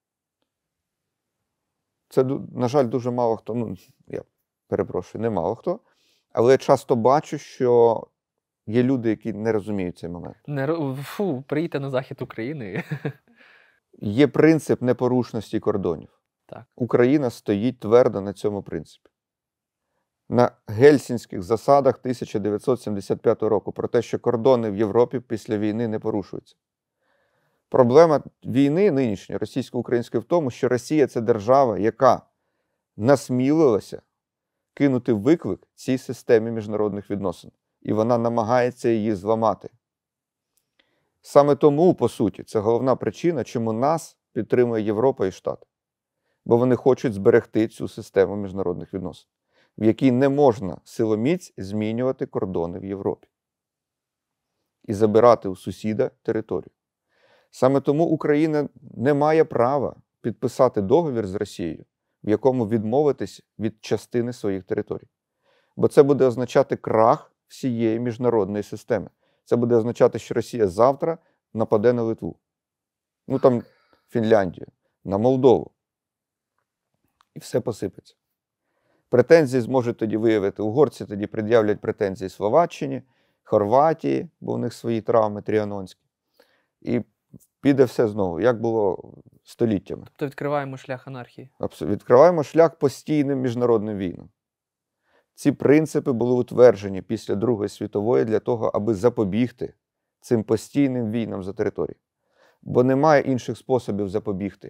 це, на жаль, дуже мало хто, ну, я перепрошую, не мало хто, але я часто бачу, що є люди, які не розуміють цей момент. Не, ро- фу, приїдьте на захід України. Є принцип непорушності кордонів. Так. Україна стоїть твердо на цьому принципі. На гельсінських засадах тисяча дев'ятсот сімдесят п'ятого року про те, що кордони в Європі після війни не порушуються. Проблема війни нинішньої російсько-української в тому, що Росія – це держава, яка насмілилася кинути виклик цій системі міжнародних відносин. І вона намагається її зламати. Саме тому, по суті, це головна причина, чому нас підтримує Європа і Штати. Бо вони хочуть зберегти цю систему міжнародних відносин, в якій не можна силоміць змінювати кордони в Європі і забирати у сусіда територію. Саме тому Україна не має права підписати договір з Росією, в якому відмовитись від частини своїх територій. Бо це буде означати крах всієї міжнародної системи. Це буде означати, що Росія завтра нападе на Литву, ну там Фінляндію, на Молдову. І все посипеться. Претензії зможуть тоді виявити. Угорці тоді пред'являть претензії Словаччині, Хорватії, бо у них свої травми тріанонські. І піде все знову, як було століттями. Тобто відкриваємо шлях анархії. Абсолютно. Відкриваємо шлях постійним міжнародним війнам. Ці принципи були утверджені після Другої світової для того, аби запобігти цим постійним війнам за територію. Бо немає інших способів запобігти.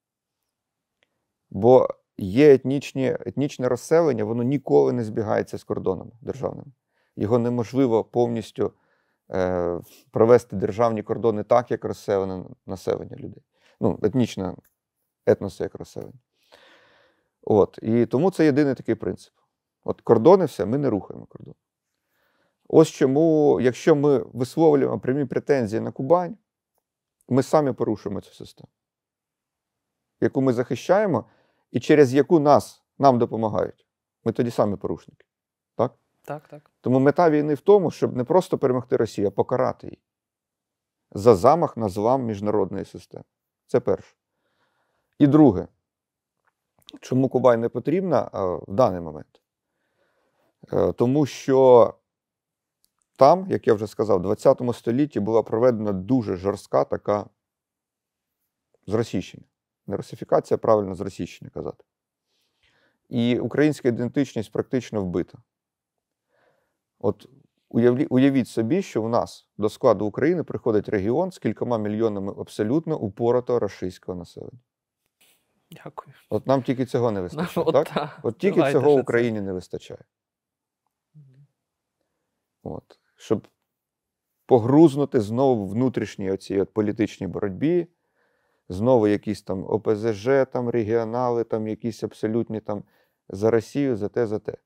Бо є етнічні, етнічне розселення, воно ніколи не збігається з кордонами державними. Його неможливо повністю е, провести державні кордони так, як розселене населення людей. Ну, етнічне, етноси як розселення. От. І тому це єдиний такий принцип. От кордони все, ми не рухаємо кордон. Ось чому, якщо ми висловлюємо прямі претензії на Кубань, ми самі порушуємо цю систему, яку ми захищаємо і через яку нас, нам допомагають. Ми тоді самі порушники. Так? Так, так. Тому мета війни в тому, щоб не просто перемогти Росію, а покарати її за замах на злам міжнародної системи. Це перше. І друге. Чому Кубань не потрібна в даний момент? Тому що там, як я вже сказав, в двадцятому столітті була проведена дуже жорстка така зросійщення. Не русифікація, правильно зросійщення казати. І українська ідентичність практично вбита. От уявлі, уявіть собі, що у нас до складу України приходить регіон з кількома мільйонами абсолютно упоротого рашистського населення. Дякую. От нам тільки цього не вистачає, Ну, от так? та. От тільки Давайте цього ще Україні не вистачає. От. Щоб погрузнути знову в внутрішній оцій от політичній боротьбі, знову якісь там О Пе Зе Же, там регіонали, там якісь абсолютні там за Росію, за те, за те.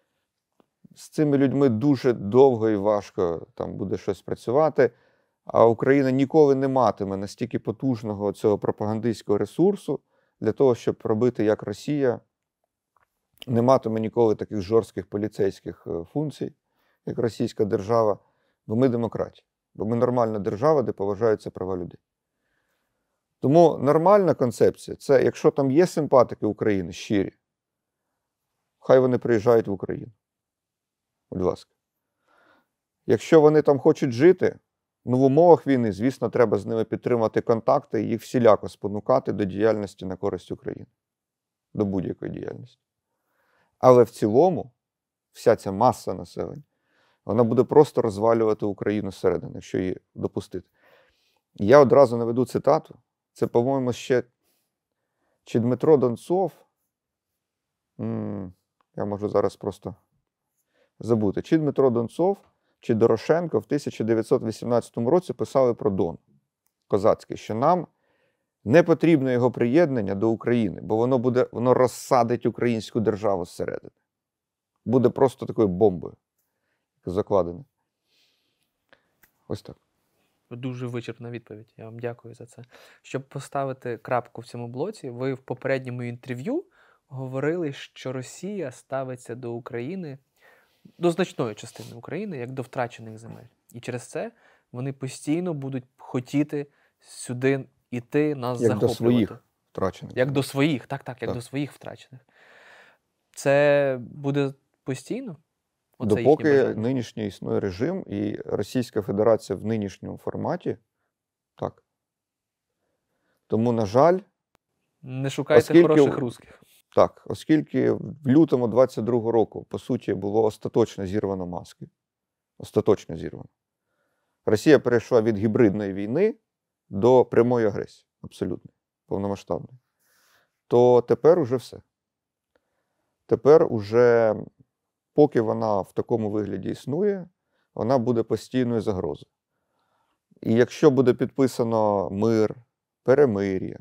З цими людьми дуже довго і важко там буде щось працювати, а Україна ніколи не матиме настільки потужного цього пропагандистського ресурсу для того, щоб робити як Росія, не матиме ніколи таких жорстких поліцейських функцій, як російська держава, бо ми демократія, бо ми нормальна держава, де поважаються права людей. Тому нормальна концепція – це якщо там є симпатики України щирі, хай вони приїжджають в Україну. Будь ласка. Якщо вони там хочуть жити, ну в умовах війни, звісно, треба з ними підтримати контакти і їх всіляко спонукати до діяльності на користь України. До будь-якої діяльності. Але в цілому, вся ця маса населення, вона буде просто розвалювати Україну зсередини, якщо її допустити. Я одразу наведу цитату. Це, по-моєму, ще чи Дмитро Донцов, М-м, я можу зараз просто забути, чи Дмитро Донцов, чи Дорошенко в тисяча дев'ятсот вісімнадцятому році писали про Дон козацький, що нам не потрібно його приєднання до України, бо воно буде, воно розсадить українську державу зсередини. Буде просто такою бомбою закладено. Ось так. Дуже вичерпна відповідь. Я вам дякую за це. Щоб поставити крапку в цьому блоці, ви в попередньому інтерв'ю говорили, що Росія ставиться до України, до значної частини України, як до втрачених земель. І через це вони постійно будуть хотіти сюди йти, нас як захоплювати. До своїх втрачених. Як до своїх, так, так, як так. до своїх втрачених. Це буде постійно? Оце Допоки нинішній існує режим і Російська Федерація в нинішньому форматі, так. Тому, на жаль, не шукайте оскільки, хороших русських. Так, оскільки в лютому двадцять другого року, по суті, було остаточно зірвано маски, остаточно зірвано, Росія перейшла від гібридної війни до прямої агресії, абсолютно, повномасштабної, то тепер уже все. Тепер уже, поки вона в такому вигляді існує, вона буде постійною загрозою. І якщо буде підписано мир, перемир'я,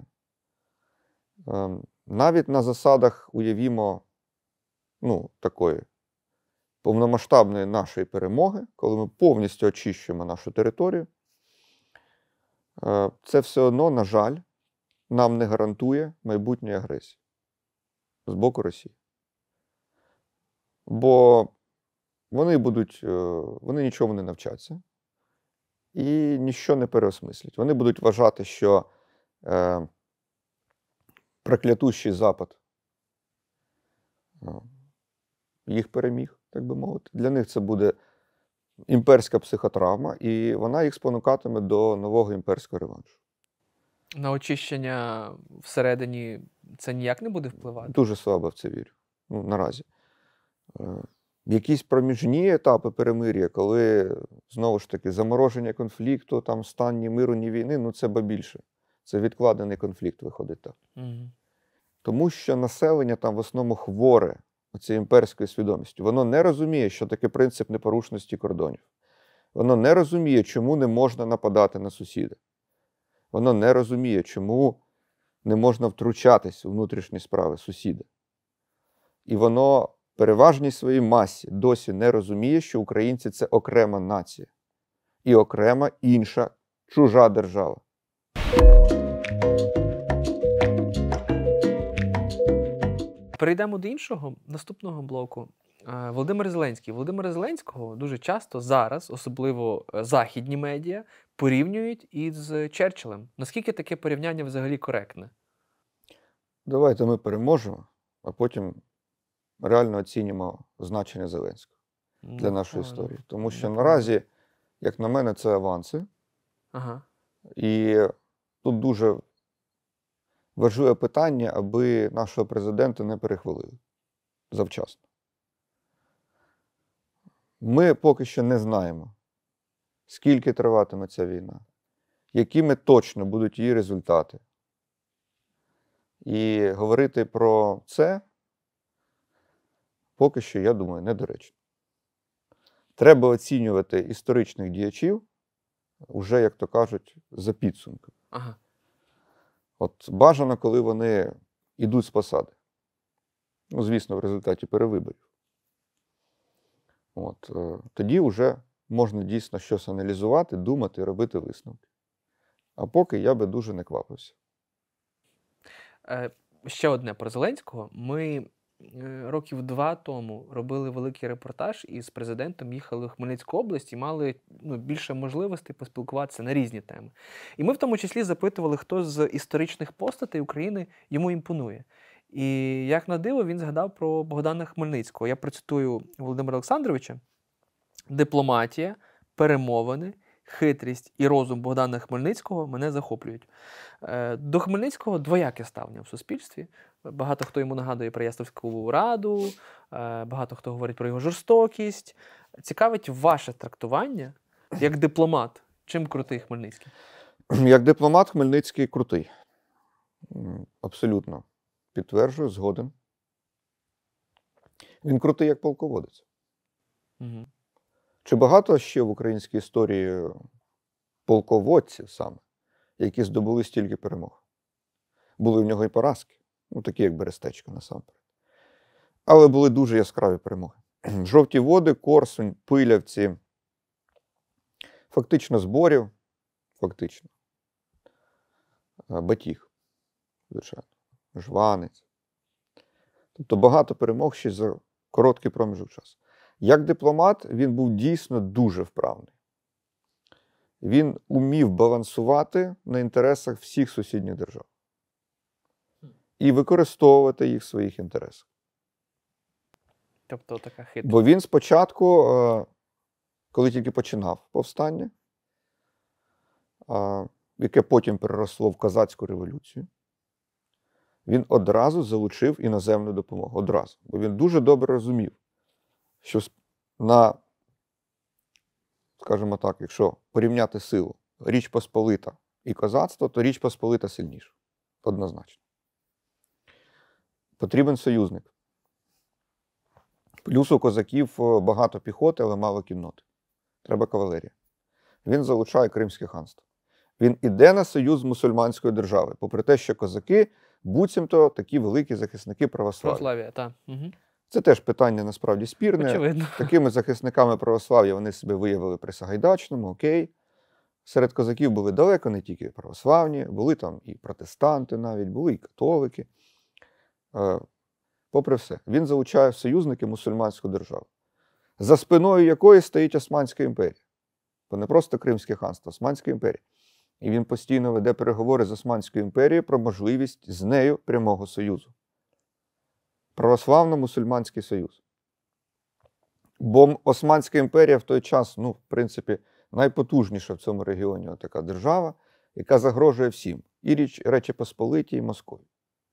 навіть на засадах, уявімо, ну, такої повномасштабної нашої перемоги, коли ми повністю очищуємо нашу територію, це все одно, на жаль, нам не гарантує майбутньої агресії з боку Росії. Бо вони будуть, вони нічому не навчаться і ніщо не переосмислять. Вони будуть вважати, що е, проклятущий Запад їх переміг, так би мовити. Для них це буде імперська психотравма, і вона їх спонукатиме до нового імперського реваншу. На очищення всередині це ніяк не буде впливати? Дуже слабо в це вірю. Ну, наразі. Якісь проміжні етапи перемир'я, коли, знову ж таки, замороження конфлікту, там, стан ні миру, ні війни, ну це ба більше. Це відкладений конфлікт виходить так. Угу. Тому що населення там в основному хворе оцією імперською свідомістю. Воно не розуміє, що таке принцип непорушності кордонів. Воно не розуміє, чому не можна нападати на сусіда. Воно не розуміє, чому не можна втручатись у внутрішні справи сусіда. І воно в переважній своїй масі досі не розуміє, що українці – це окрема нація. І окрема інша чужа держава. Перейдемо до іншого, наступного блоку. Е, Володимир Зеленський. Володимира Зеленського дуже часто зараз, особливо е, західні медіа, порівнюють із Черчиллем. Наскільки таке порівняння взагалі коректне? Давайте ми переможемо, а потім реально оцінимо значення Зеленського для Ну, нашої правильно. історії. Тому що Ну, наразі, як на мене, це аванси. Ага. І тут дуже важливе питання, аби нашого президента не перехвалили завчасно. Ми поки що не знаємо, скільки триватиме ця війна, якими точно будуть її результати. І говорити про це поки що, я думаю, недоречно. Треба оцінювати історичних діячів уже, як то кажуть, за підсумками. Ага. От бажано, коли вони йдуть з посади. Ну, звісно, в результаті перевиборів. От, е, тоді вже можна дійсно щось аналізувати, думати, робити висновки. А поки я би дуже не квапився. Е, Ще одне про Зеленського. Ми е, років два тому робили великий репортаж і з президентом їхали в Хмельницьку область і мали ну, більше можливостей поспілкуватися на різні теми. І ми в тому числі запитували, хто з історичних постатей України йому імпонує. І як на диво, він згадав про Богдана Хмельницького. Я процитую Володимира Олександровича. Дипломатія, перемовини, хитрість і розум Богдана Хмельницького мене захоплюють. Е, До Хмельницького двояке ставлення в суспільстві. Багато хто йому нагадує про Ясновську раду, е, багато хто говорить про його жорстокість. Цікавить ваше трактування як дипломат. Чим крутий Хмельницький? Як дипломат Хмельницький крутий. М, Абсолютно. Підтверджую, згоден. Він крутий як полководець. Угу. Чи багато ще в українській історії полководців саме, які здобули стільки перемог? Були в нього і поразки, ну такі як Берестечко насамперед. Але були дуже яскраві перемоги. Жовті води, Корсунь, Пилявці, фактично Зборів, фактично. Батіг, звичайно, Жванець. Тобто багато перемог ще за короткий проміжок часу. Як дипломат він був дійсно дуже вправний. Він умів балансувати на інтересах всіх сусідніх держав. І використовувати їх в своїх інтересах. Тобто така хитра. Бо він спочатку, е, коли тільки починав повстання, е, яке потім переросло в Козацьку революцію, він одразу залучив іноземну допомогу. Одразу. Бо він дуже добре розумів, що на, скажімо так, якщо порівняти силу Річ Посполита і козацтво, то Річ Посполита сильніша. Однозначно. Потрібен союзник. Плюс у козаків багато піхоти, але мало кінноти. Треба кавалерія. Він залучає Кримське ханство. Він іде на союз з мусульманською державою, попри те, що козаки буцімто такі великі захисники православ'я. Православ'я, так. Угу. Це теж питання насправді спірне. Очевидно. Такими захисниками православ'я вони себе виявили при Сагайдачному, окей. Серед козаків були далеко не тільки православні, були там і протестанти навіть, були і католики. Е, Попри все, він залучає в союзники мусульманську державу, за спиною якої стоїть Османська імперія. Бо не просто Кримське ханство, Османська імперія. І він постійно веде переговори з Османською імперією про можливість з нею прямого союзу. Православно-мусульманський союз. Бо Османська імперія в той час, ну, в принципі, найпотужніша в цьому регіоні така держава, яка загрожує всім. І Річ, Речі Посполитій, і Московії.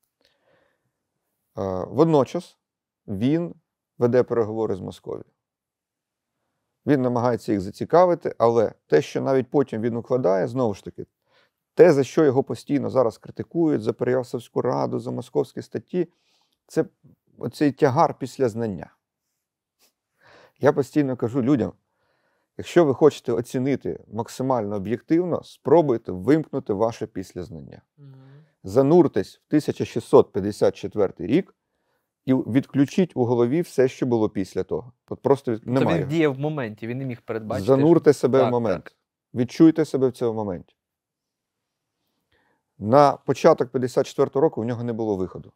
Водночас він веде переговори з Московією. Він намагається їх зацікавити, але те, що навіть потім він укладає, знову ж таки, те, за що його постійно зараз критикують, за Переяславську раду, за московські статті, це оцей тягар після знання. Я постійно кажу людям, якщо ви хочете оцінити максимально об'єктивно, спробуйте вимкнути ваше післязнання. Зануртесь в тисяча шістсот п'ятдесят четвертий рік і відключіть у голові все, що було після того. От просто Тобто немає. він діяв в моменті, він не міг передбачити. Занурте себе Так, в момент. так. Відчуйте себе в цьому моменті. На початок п'ятдесят четвертого року в нього не було виходу.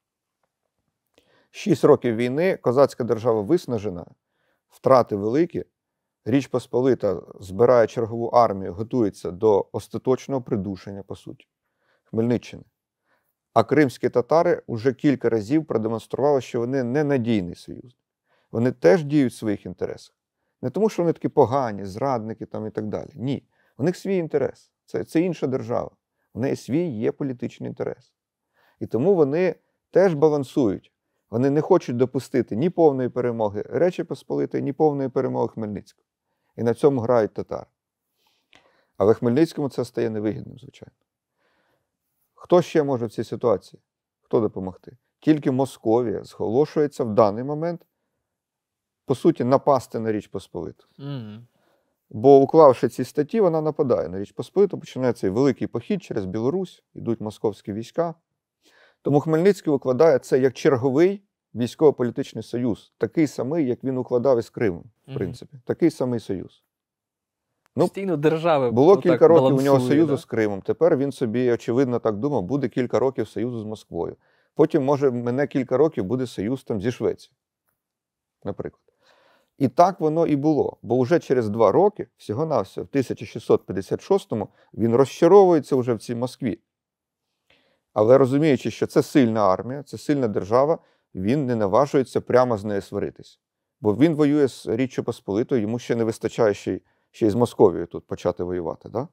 Шість років війни, козацька держава виснажена, втрати великі, Річ Посполита збирає чергову армію, готується до остаточного придушення, по суті, Хмельниччини. А кримські татари вже кілька разів продемонстрували, що вони ненадійний союзник. Вони теж діють в своїх інтересах. Не тому, що вони такі погані, зрадники там і так далі. Ні. У них свій інтерес. Це, це інша держава. У неї свій є політичний інтерес. І тому вони теж балансують. Вони не хочуть допустити ні повної перемоги Речі Посполитої, ні повної перемоги Хмельницького. І на цьому грають татари. Але Хмельницькому це стає невигідним, звичайно. Хто ще може в цій ситуації? Хто допомогти? Тільки Московія зголошується в даний момент, по суті, напасти на Річ Посполиту. Mm. Бо, уклавши ці статті, вона нападає на Річ Посполиту, починає цей великий похід через Білорусь, йдуть московські війська. Тому Хмельницький укладає це як черговий військово-політичний союз, такий самий, як він укладав із Кримом, в принципі. Mm. Такий самий союз. Ну, постійно держави. Було кілька років у нього союзу да? з Кримом. Тепер він собі, очевидно, так думав, буде кілька років союзу з Москвою. Потім, може, мене кілька років буде союз там зі Швецією, наприклад. І так воно і було. Бо вже через два роки, всього-навсього, в тисяча шістсот п'ятдесят шостому, він розчаровується вже в цій Москві. Але розуміючи, що це сильна армія, це сильна держава, він не наважується прямо з нею сваритися. Бо він воює з Річчю Посполитою, йому ще не вистачає ще й ще й з Московією тут почати воювати. Да?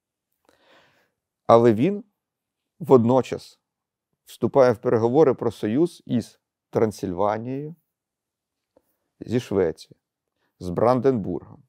Але він водночас вступає в переговори про союз із Трансильванією, зі Швецією, з Бранденбургом.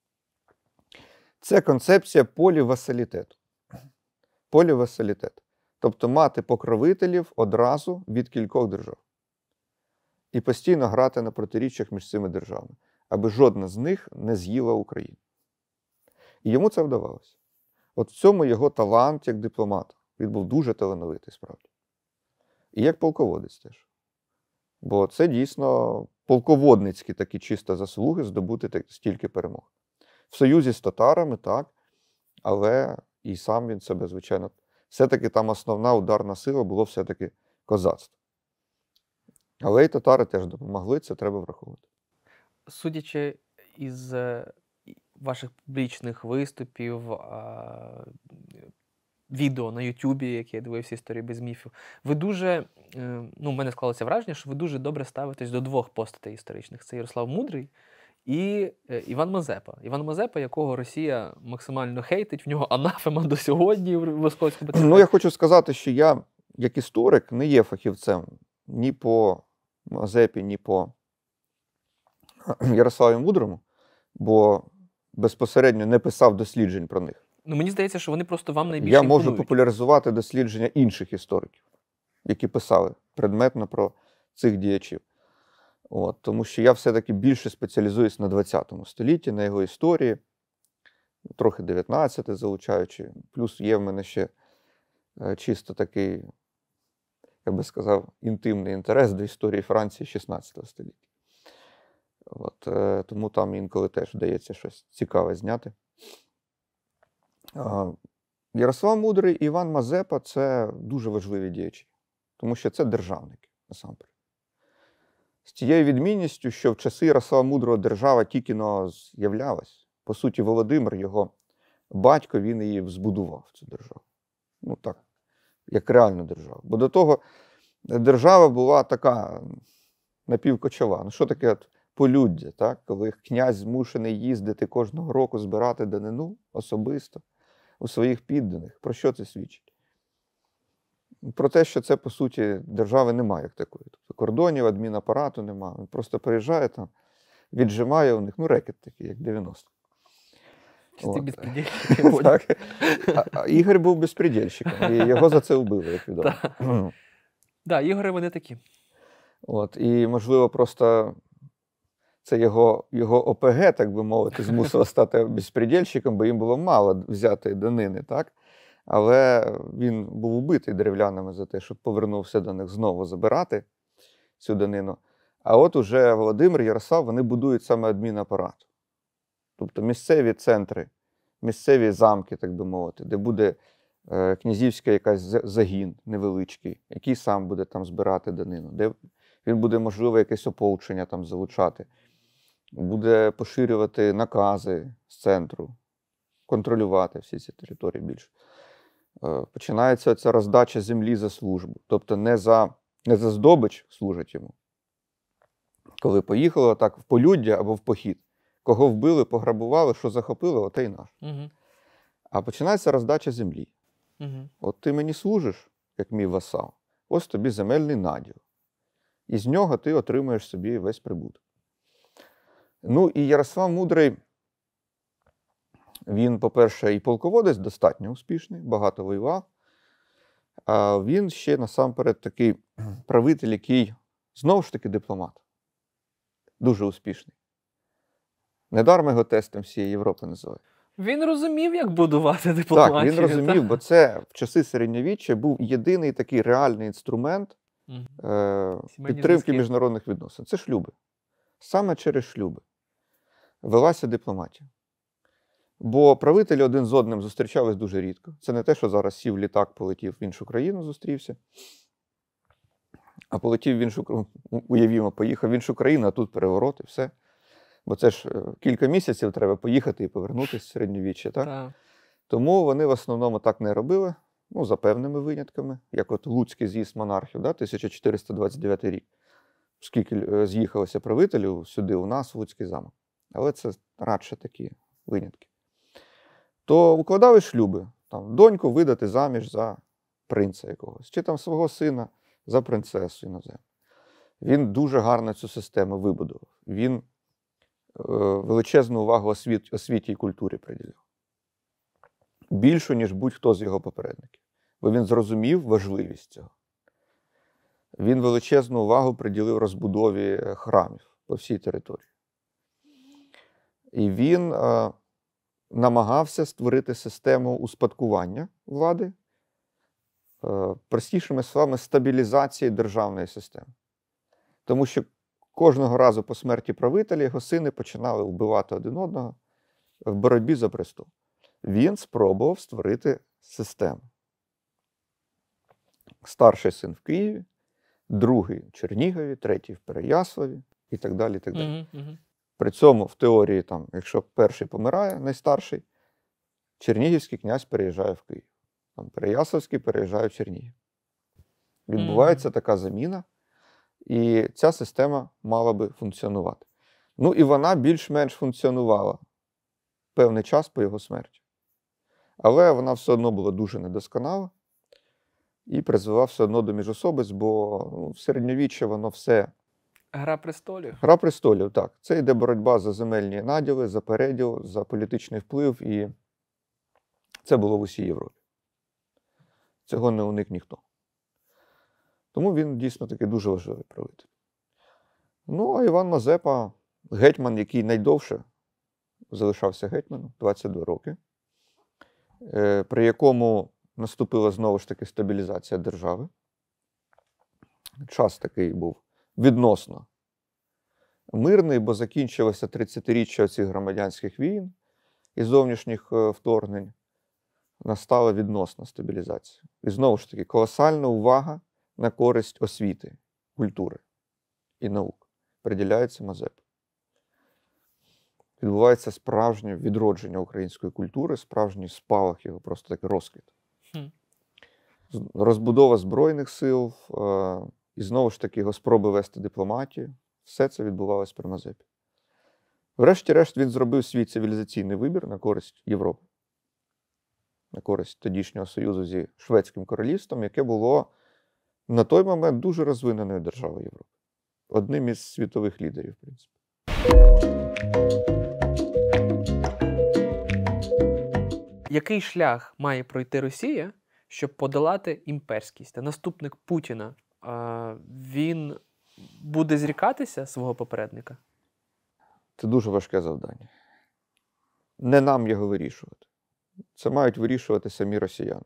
Це концепція полівасалітету. Полівасалітет. Тобто мати покровителів одразу від кількох держав. І постійно грати на протиріччях між цими державами, аби жодна з них не з'їла Україну. І йому це вдавалося. От в цьому його талант як дипломата. Він був дуже талановитий, справді. І як полководець теж. Бо це дійсно полководницькі такі чисто заслуги здобути так, стільки перемог. В союзі з татарами, так, але і сам він себе, звичайно, все-таки там основна ударна сила було все-таки козацтво. Але і татари теж допомогли, це треба враховувати. Судячи із ваших публічних виступів, відео на Ютубі, які я дивився «Історії без міфів», ви дуже, ну, в мене склалося враження, що ви дуже добре ставитесь до двох постатей історичних. Це Ярослав Мудрий і Іван Мазепа. Іван Мазепа, якого Росія максимально хейтить, в нього анафема до сьогодні в Московському патріархаті. Ну, я хочу сказати, що я, як історик, не є фахівцем ні по Мазепі, ні по Ярославі Мудрому, бо безпосередньо не писав досліджень про них. Ну, мені здається, що вони просто вам найбільше Я імпонують. можу популяризувати дослідження інших істориків, які писали предметно про цих діячів. От, тому що я все-таки більше спеціалізуюсь на двадцятому столітті, на його історії, трохи дев'ятнадцяте залучаючи. Плюс є в мене ще чисто такий, я би сказав, інтимний інтерес до історії Франції шістнадцятого століття. От, е, тому там інколи теж вдається щось цікаве зняти. Е, Ярослав Мудрий і Іван Мазепа – це дуже важливі діячі, тому що це державники, насамперед. З тією відмінністю, що в часи Ярослава Мудрого держава тільки-но з'являлась. По суті, Володимир, його батько, він її збудував, цю державу. Ну так, як реальну державу. Бо до того держава була така напівкочова. Ну що таке от полюддя, так? Коли князь змушений їздити кожного року збирати данину особисто у своїх підданих. Про що це свідчить? Про те, що це, по суті, держави немає як такої. Тобто кордонів, адмінапарату немає. Він просто приїжджає там, віджимає у них, ну, рекет такий, як дев'яносто. Чистий безпредельщик. Так. А, а Ігор був безпредельщиком, і його за це вбили, як відомо. Так, да, Ігори вони такі. От, і, можливо, просто це його, його ОПГ, так би мовити, змусило стати безпредельщиком, бо їм було мало взяти данини, так? Але він був убитий древлянами за те, щоб повернувся до них знову забирати цю данину. А от уже Володимир, Ярослав, вони будують саме адмінапарат. Тобто місцеві центри, місцеві замки, так би мовити, де буде е, князівська якась за- загін невеличкий, який сам буде там збирати данину, де він буде, можливо, якесь ополчення там залучати, буде поширювати накази з центру, контролювати всі ці території більше. Е, Починається ця роздача землі за службу. Тобто не за, не за здобич служать йому. Коли поїхали отак в полюддя або в похід. Кого вбили, пограбували, що захопили, оте й наш. Угу. А починається роздача землі. Угу. От ти мені служиш, як мій васал, ось тобі земельний наділ. І з нього ти отримуєш собі весь прибуток. Ну і Ярослав Мудрий, він, по-перше, і полководець достатньо успішний, багато воював. А він ще насамперед такий правитель, який, знову ж таки, дипломат. Дуже успішний. Недарма його тестом всієї Європи називають. Він розумів, як будувати дипломатію. Так, він розумів, так? бо це в часи середньовіччя був єдиний такий реальний інструмент Мгм. е, Сімейні підтримки зв'язки. міжнародних відносин. Це шлюби. Саме через шлюби велася дипломатія. Бо правителі один з одним зустрічались дуже рідко. Це не те, що зараз сів літак, полетів в іншу країну, зустрівся. А полетів в іншу країну, уявімо, поїхав в іншу країну, а тут переворот і все. Бо це ж е, кілька місяців треба поїхати і повернутися з середньовіччя, так? Так. Тому вони в основному так не робили, ну, за певними винятками, як от Луцький з'їзд монархів, да, тисяча чотириста двадцять дев'ятий рік. Скільки е, з'їхалося правителів сюди у нас, в Луцький замок. Але це радше такі винятки. То укладали шлюби, там, доньку видати заміж за принца якогось, чи там свого сина за принцесу іноземну. Він дуже гарно цю систему вибудував. Він е, величезну увагу освіт, освіті і культурі приділяв. Більшу, ніж будь-хто з його попередників. Бо він зрозумів важливість цього. Він величезну увагу приділив розбудові храмів по всій території. І він е, намагався створити систему успадкування влади, е, простішими словами, стабілізації державної системи. Тому що кожного разу по смерті правителя його сини починали вбивати один одного в боротьбі за престол. Він спробував створити систему. Старший син в Києві, другий в Чернігові, третій в Переяславі і так далі. І так далі. Угу. Угу. При цьому в теорії, там, якщо перший помирає, найстарший, Чернігівський князь переїжджає в Київ. Там, Переяславський переїжджає в Чернігів. Відбувається така заміна, і ця система мала би функціонувати. Ну і вона більш-менш функціонувала певний час по його смерті. Але вона все одно була дуже недосконала і призвела все одно до міжособиць, бо ну, в середньовіччя воно все... Гра престолів. Гра престолів, так. Це йде боротьба за земельні наділи, за переділ, за політичний вплив, і це було в усій Європі. Цього не уник ніхто. Тому він дійсно такий дуже важливий правитель. Ну, а Іван Мазепа, гетьман, який найдовше залишався гетьманом, двадцять два роки, е, при якому наступила знову ж таки стабілізація держави. Час такий був відносно мирний, бо закінчилося тридцятиріччя цих громадянських війн і зовнішніх е, вторгнень. Настала відносна стабілізація. І знову ж таки, колосальна увага на користь освіти, культури і наук приділяється Мазепі. Відбувається справжнє відродження української культури, справжній спалах його, просто такий розквіт. Хм. Розбудова Збройних сил, е, і знову ж таки його спроби вести дипломатію. Все це відбувалося при Мазепі. Врешті-решт він зробив свій цивілізаційний вибір на користь Європи. На користь тодішнього союзу зі Шведським королівством, яке було на той момент дуже розвиненою державою Європи. Одним із світових лідерів, в принципі. Який шлях має пройти Росія, щоб подолати імперськість? Та наступник Путіна, а, він буде зрікатися свого попередника? Це дуже важке завдання. Не нам його вирішувати. Це мають вирішувати самі росіяни.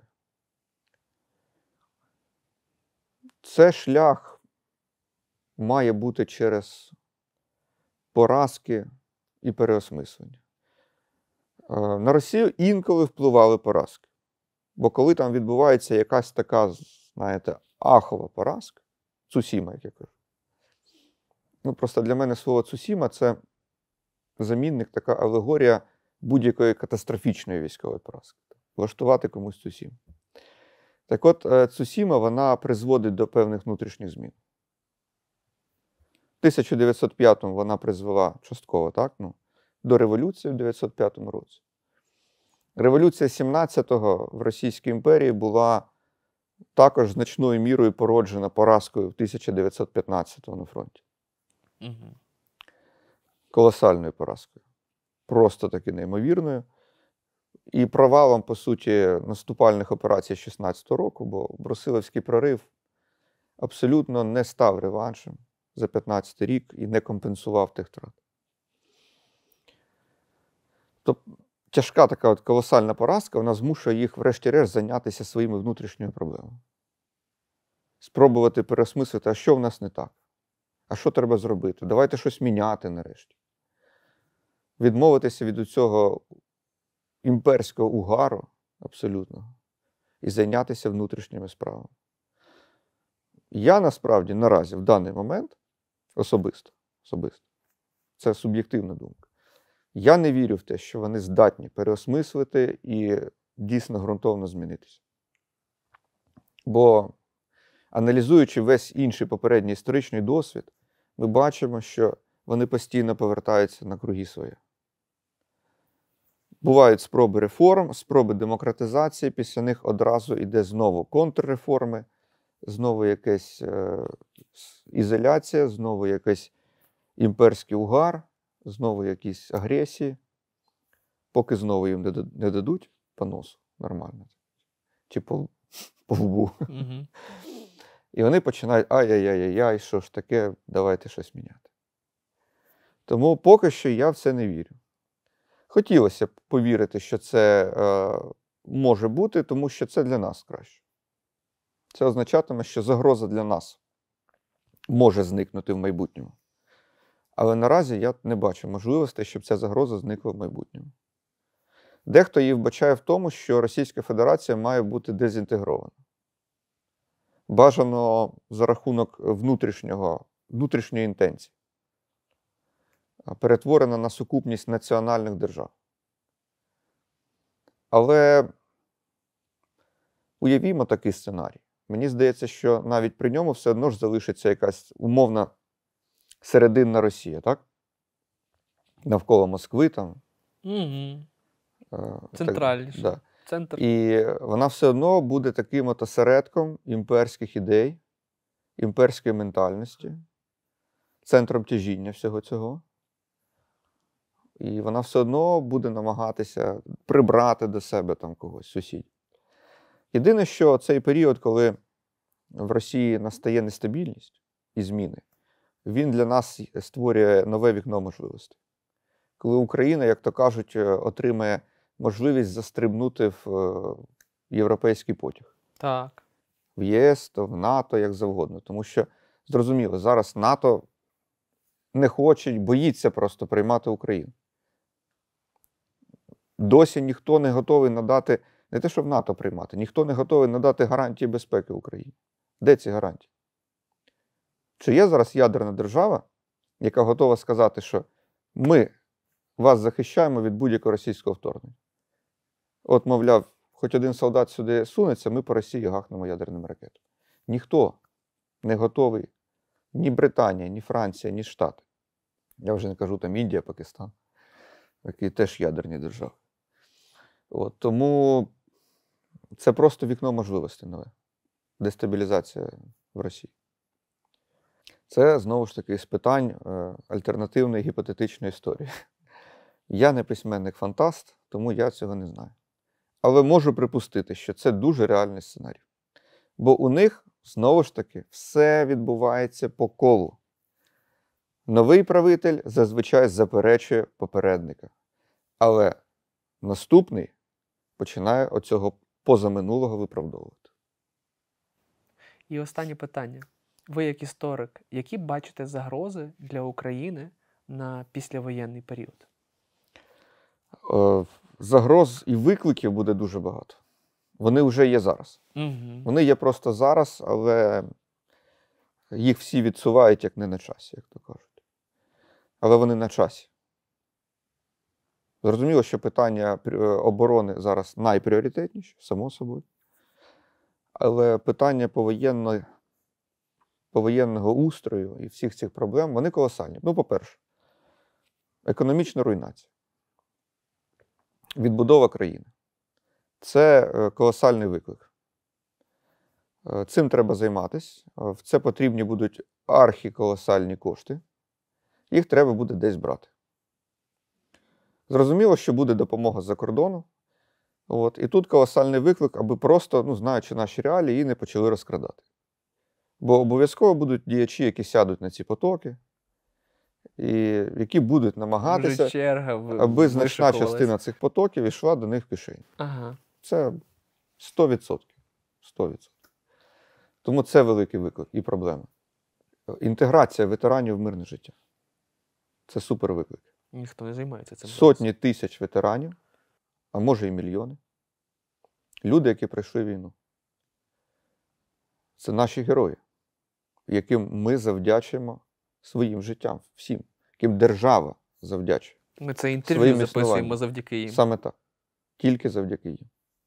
Це шлях має бути через поразки і переосмислення. На Росію інколи впливали поразки. Бо коли там відбувається якась така, знаєте, ахова поразка, Цусіма, як я кажу. Ну, просто для мене слово Цусіма – це замінник, така алегорія будь-якої катастрофічної військової поразки. Влаштувати комусь Цусіму. Так от, Цусіма, вона призводить до певних внутрішніх змін. В тисяча дев'ятсот п'ятому вона призвела частково, так, ну, до революції в дев'ятсот п'ятому році. Революція сімнадцятого в Російській імперії була також значною мірою породжена поразкою в тисяча дев'ятсот п'ятнадцятому на фронті. Угу. Колосальною поразкою. Просто таки неймовірною. І провалом, по суті, наступальних операцій шістнадцятого року, бо Брусиловський прорив абсолютно не став реваншем за п'ятнадцятий рік і не компенсував тих втрат. Тобто тяжка така от колосальна поразка, вона змушує їх врешті-решт зайнятися своїми внутрішніми проблемами. Спробувати переосмислити, а що в нас не так? А що треба зробити? Давайте щось міняти нарешті. Відмовитися від цього імперського угару абсолютно і зайнятися внутрішніми справами. Я насправді наразі в даний момент особисто, особисто, це суб'єктивна думка, я не вірю в те, що вони здатні переосмислити і дійсно ґрунтовно змінитися. Бо, аналізуючи весь інший попередній історичний досвід, ми бачимо, що вони постійно повертаються на круги свої. Бувають спроби реформ, спроби демократизації, після них одразу йде знову контрреформи, знову якась е, ізоляція, знову якийсь імперський угар, знову якісь агресії, поки знову їм не дадуть по носу нормально, чи по, по лбу. Угу. І вони починають, ай-яй-яй-яй, що ж таке, давайте щось міняти. Тому поки що я в це не вірю. Хотілося б повірити, що це е, може бути, тому що це для нас краще. Це означатиме, що загроза для нас може зникнути в майбутньому. Але наразі я не бачу можливості, щоб ця загроза зникла в майбутньому. Дехто її вбачає в тому, що Російська Федерація має бути дезінтегрована. Бажано за рахунок внутрішнього, внутрішньої інтенції. Перетворена на сукупність національних держав. Але уявімо такий сценарій. Мені здається, що навіть при ньому все одно ж залишиться якась умовна серединна Росія, так? Навколо Москви там. Угу. Е, Центральніше. Так, да. Центр. І вона все одно буде таким от осередком імперських ідей, імперської ментальності, центром тяжіння всього цього. І вона все одно буде намагатися прибрати до себе там когось, сусідів. Єдине, що цей період, коли в Росії настає нестабільність і зміни, він для нас створює нове вікно можливостей. Коли Україна, як то кажуть, отримає можливість застрибнути в європейський потяг. Так. В ЄС, то в НАТО, як завгодно. Тому що, зрозуміло, зараз НАТО не хоче, боїться просто приймати Україну. Досі ніхто не готовий надати, не те, що в НАТО приймати, ніхто не готовий надати гарантії безпеки Україні. Де ці гарантії? Чи є зараз ядерна держава, яка готова сказати, що ми вас захищаємо від будь-якого російського вторгнення? От, мовляв, хоч один солдат сюди сунеться, ми по Росії гахнемо ядерним ракетом. Ніхто не готовий, ні Британія, ні Франція, ні Штати. Я вже не кажу там Індія, Пакистан, які теж ядерні держави. От, тому це просто вікно можливостей нове. Дестабілізація в Росії. Це, знову ж таки, з питань е, альтернативної гіпотетичної історії. Я не письменник-фантаст, тому я цього не знаю. Але можу припустити, що це дуже реальний сценарій. Бо у них, знову ж таки, все відбувається по колу. Новий правитель зазвичай заперечує попередника. Але наступний починає оцього позаминулого виправдовувати. І останнє питання. Ви, як історик, які бачите загрози для України на післявоєнний період? Загроз і викликів буде дуже багато. Вони вже є зараз. Угу. Вони є просто зараз, але їх всі відсувають як не на часі, як то кажуть. Але вони на часі. Зрозуміло, що питання оборони зараз найпріоритетніше, само собою. Але питання повоєнного, повоєнного устрою і всіх цих проблем, вони колосальні. Ну, по-перше, економічна руйнація. Відбудова країни. Це колосальний виклик. Цим треба займатися. В це потрібні будуть архіколосальні кошти. Їх треба буде десь брати. Зрозуміло, що буде допомога з-за кордону. От. І тут колосальний виклик, аби просто, ну, знаючи наші реалії, її не почали розкрадати. Бо обов'язково будуть діячі, які сядуть на ці потоки, і які будуть намагатися, Вже черга в- аби значна вишикувалась. частина цих потоків йшла до них в кишені. Ага. Це сто відсотків. сто відсотків. Тому це великий виклик і проблема. Інтеграція ветеранів в мирне життя. Це супер виклик. Ніхто не займається цим. Сотні тисяч ветеранів, а може і мільйони. Люди, які пройшли війну. Це наші герої, яким ми завдячуємо своїм життям, всім, яким держава завдячує. Ми це інтерв'ю своїм записуємо існуванням. завдяки їм. Саме так. Тільки завдяки їм.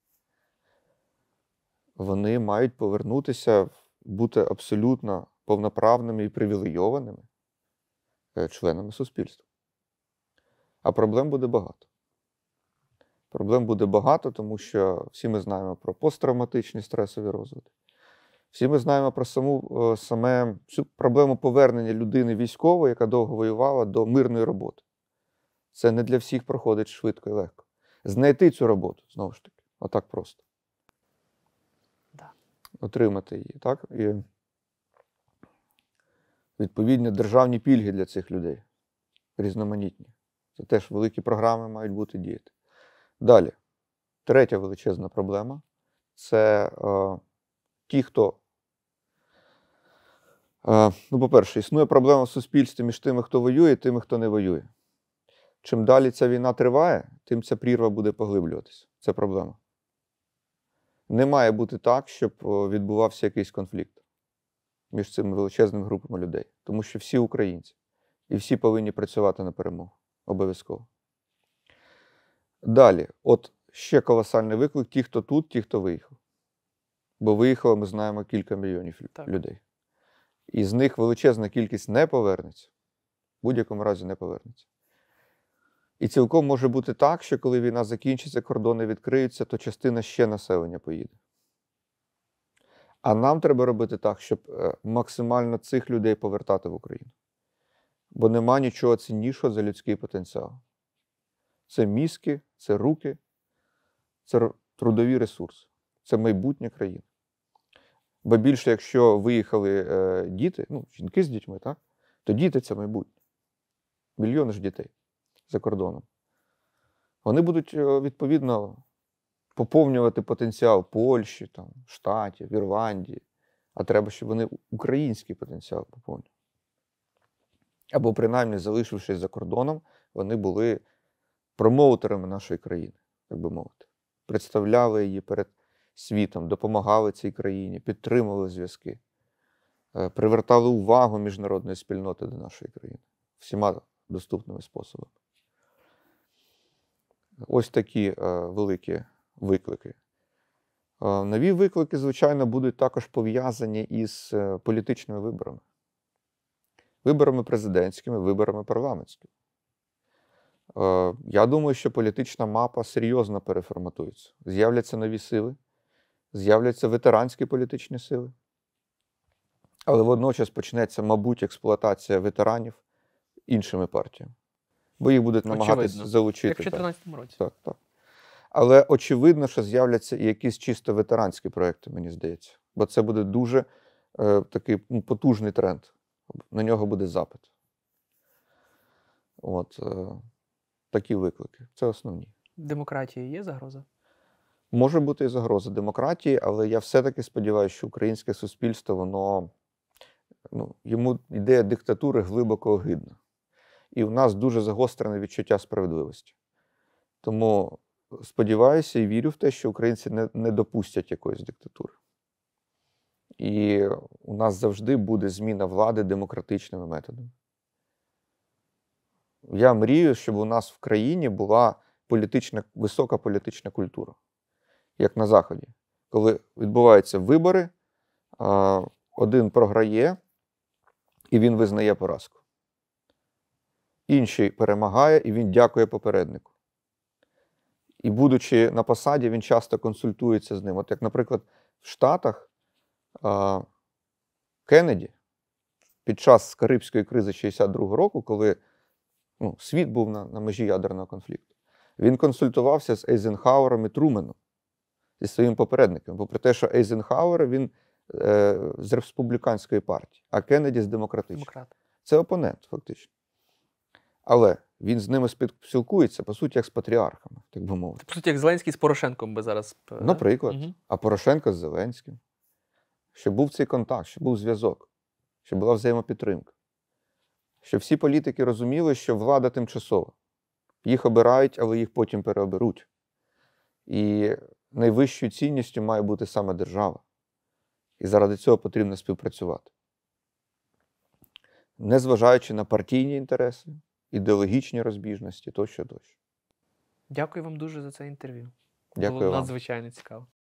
Вони мають повернутися, бути абсолютно повноправними і привілейованими е, членами суспільства. А проблем буде багато. Проблем буде багато, тому що всі ми знаємо про посттравматичні стресові розвитки. Всі ми знаємо про саму, е, саме цю проблему повернення людини військової, яка довго воювала, до мирної роботи. Це не для всіх проходить швидко і легко. Знайти цю роботу, знову ж таки, отак просто. Да. Отримати її, так? І відповідні державні пільги для цих людей. Різноманітні. Це теж великі програми мають бути діяти. Далі. Третя величезна проблема – це е, ті, хто… Е, ну, по-перше, існує проблема в суспільстві між тими, хто воює, і тими, хто не воює. Чим далі ця війна триває, тим ця прірва буде поглиблюватися. Це проблема. Не має бути так, щоб відбувався якийсь конфлікт між цими величезними групами людей. Тому що всі українці. І всі повинні працювати на перемогу. Обов'язково. Далі. От ще колосальний виклик. Ті, хто тут, ті, хто виїхав. Бо виїхало, ми знаємо, кілька мільйонів Так. людей. І з них величезна кількість не повернеться. В будь-якому разі не повернеться. І цілком може бути так, що коли війна закінчиться, кордони відкриються, то частина ще населення поїде. А нам треба робити так, щоб максимально цих людей повертати в Україну. Бо нема нічого ціннішого за людський потенціал. Це мізки, це руки, це трудові ресурси, це майбутнє країни. Бо більше, якщо виїхали е, діти, ну, жінки з дітьми, так? То діти – це майбутнє. Мільйони ж дітей за кордоном. Вони будуть, відповідно, поповнювати потенціал Польщі, там, Штатів, Ірландії. А треба, щоб вони український потенціал поповнювали. Або, принаймні, залишившись за кордоном, вони були промоутерами нашої країни, так би мовити. Представляли її перед світом, допомагали цій країні, підтримували зв'язки, привертали увагу міжнародної спільноти до нашої країни всіма доступними способами. Ось такі е, великі виклики. Е, нові виклики, звичайно, будуть також пов'язані із е, політичними виборами. Виборами президентськими, виборами парламентськими. Е, я думаю, що політична мапа серйозно переформатується. З'являться нові сили, з'являться ветеранські політичні сили. Але водночас почнеться, мабуть, експлуатація ветеранів іншими партіями. Бо їх будуть намагатися Очевидно. залучити. Як в так. чотирнадцятому році. Так, так. Але очевидно, що з'являться і якісь чисто ветеранські проекти, мені здається. Бо це буде дуже е, такий ну, потужний тренд. На нього буде запит. От, е, такі виклики. Це основні. Демократії є загроза? Може бути і загроза демократії, але я все-таки сподіваюся, що українське суспільство, воно, ну, йому ідея диктатури глибоко огидна. І в нас дуже загострене відчуття справедливості. Тому сподіваюся і вірю в те, що українці не, не допустять якоїсь диктатури. І у нас завжди буде зміна влади демократичними методами. Я мрію, щоб у нас в країні була політична, висока політична культура, як на Заході. Коли відбуваються вибори, один програє, і він визнає поразку. Інший перемагає, і він дякує попереднику. І будучи на посаді, він часто консультується з ним. От як, наприклад, в Штатах Кеннеді під час Карибської кризи шістдесят другого року, коли ну, світ був на, на межі ядерного конфлікту, він консультувався з Ейзенхауером і Труменом, зі своїм попередником. Попри те, що Ейзенхауер, він е, з республіканської партії, а Кеннеді з демократичної. Демократ. Це опонент, фактично. Але він з ними спілкується, по суті, як з патріархами, так би мовити. По суті, як Зеленський з Порошенком би зараз. Наприклад. Угу. А Порошенко з Зеленським. Щоб був цей контакт, щоб був зв'язок, щоб була взаємопідтримка. Щоб всі політики розуміли, що влада тимчасова. Їх обирають, але їх потім переоберуть. І найвищою цінністю має бути саме держава. І заради цього потрібно співпрацювати. Незважаючи на партійні інтереси, ідеологічні розбіжності, тощо, тощо. Дякую вам дуже за це інтерв'ю. Дякую Було вам. надзвичайно цікаво.